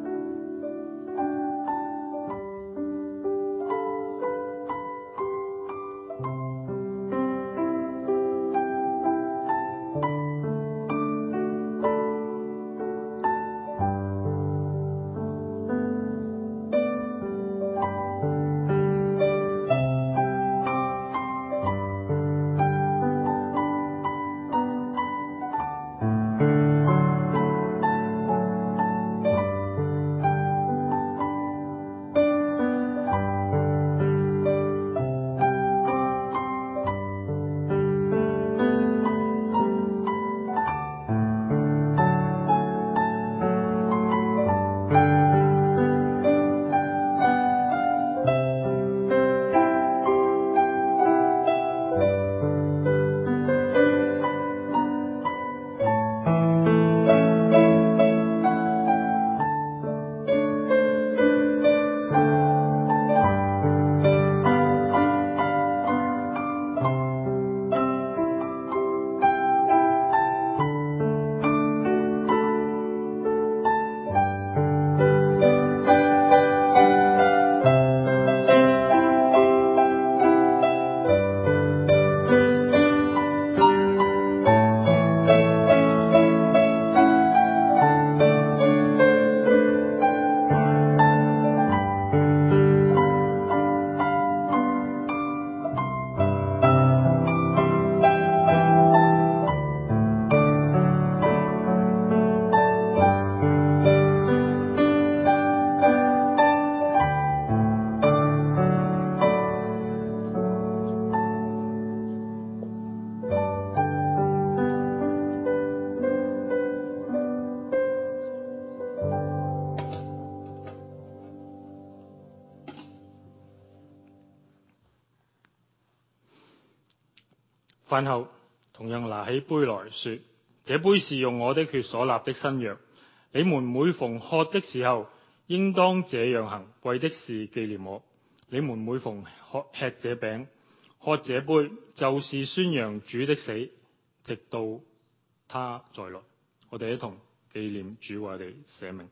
飯後同樣拿起杯來說：這杯是用我的血所立的新約。你們每逢喝的時候，應當這樣行，為的是紀念我。你們每逢吃這餅、喝這杯，就是宣揚主的死，直到他再來。我哋一同紀念主為我哋捨命。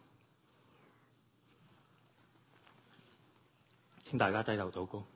請大家低頭禱告。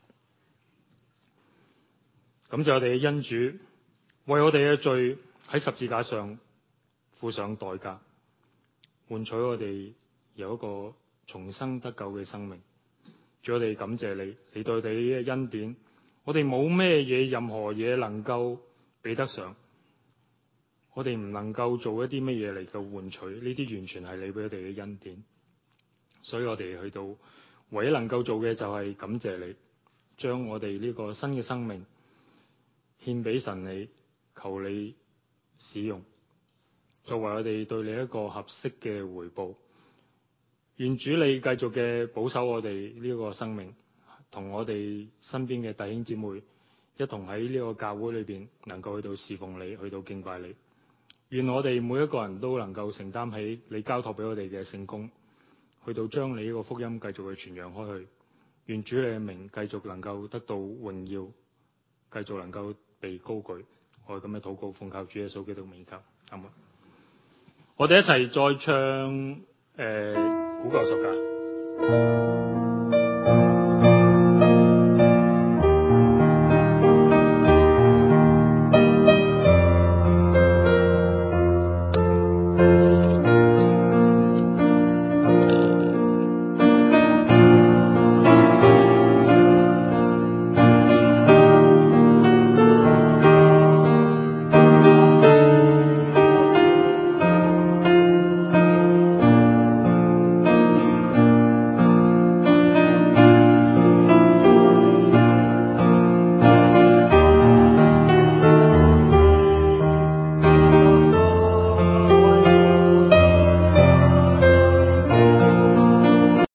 感謝我哋嘅恩主，為我哋嘅罪喺十字架上付上代價，換取我哋有一個重生得救嘅生命。主，我哋感謝你，你對我哋嘅恩典，我哋冇咩嘢，任何嘢能夠比得上。我哋唔能夠做一啲乜嘢嚟到換取，呢啲完全係你俾我哋嘅恩典。所以我哋去到唯一能夠做嘅就係感謝你，將我哋呢個新嘅生命獻俾神你，求你使用，作為我哋對你一個合適嘅回報。願主你繼續嘅保守我哋呢個生命，同我哋身邊嘅弟兄姊妹一同喺呢個教會裏邊能夠去到侍奉你，去到敬拜你。願我哋每一個人都能夠承擔起你交託俾我哋嘅聖工，去到將你呢個福音繼續去傳揚開去。願主你嘅名繼續能夠得到榮耀，繼續能夠被高舉。我哋咁嘅禱告奉靠主耶穌基督名求，阿門。我哋一齊再唱古舊十架。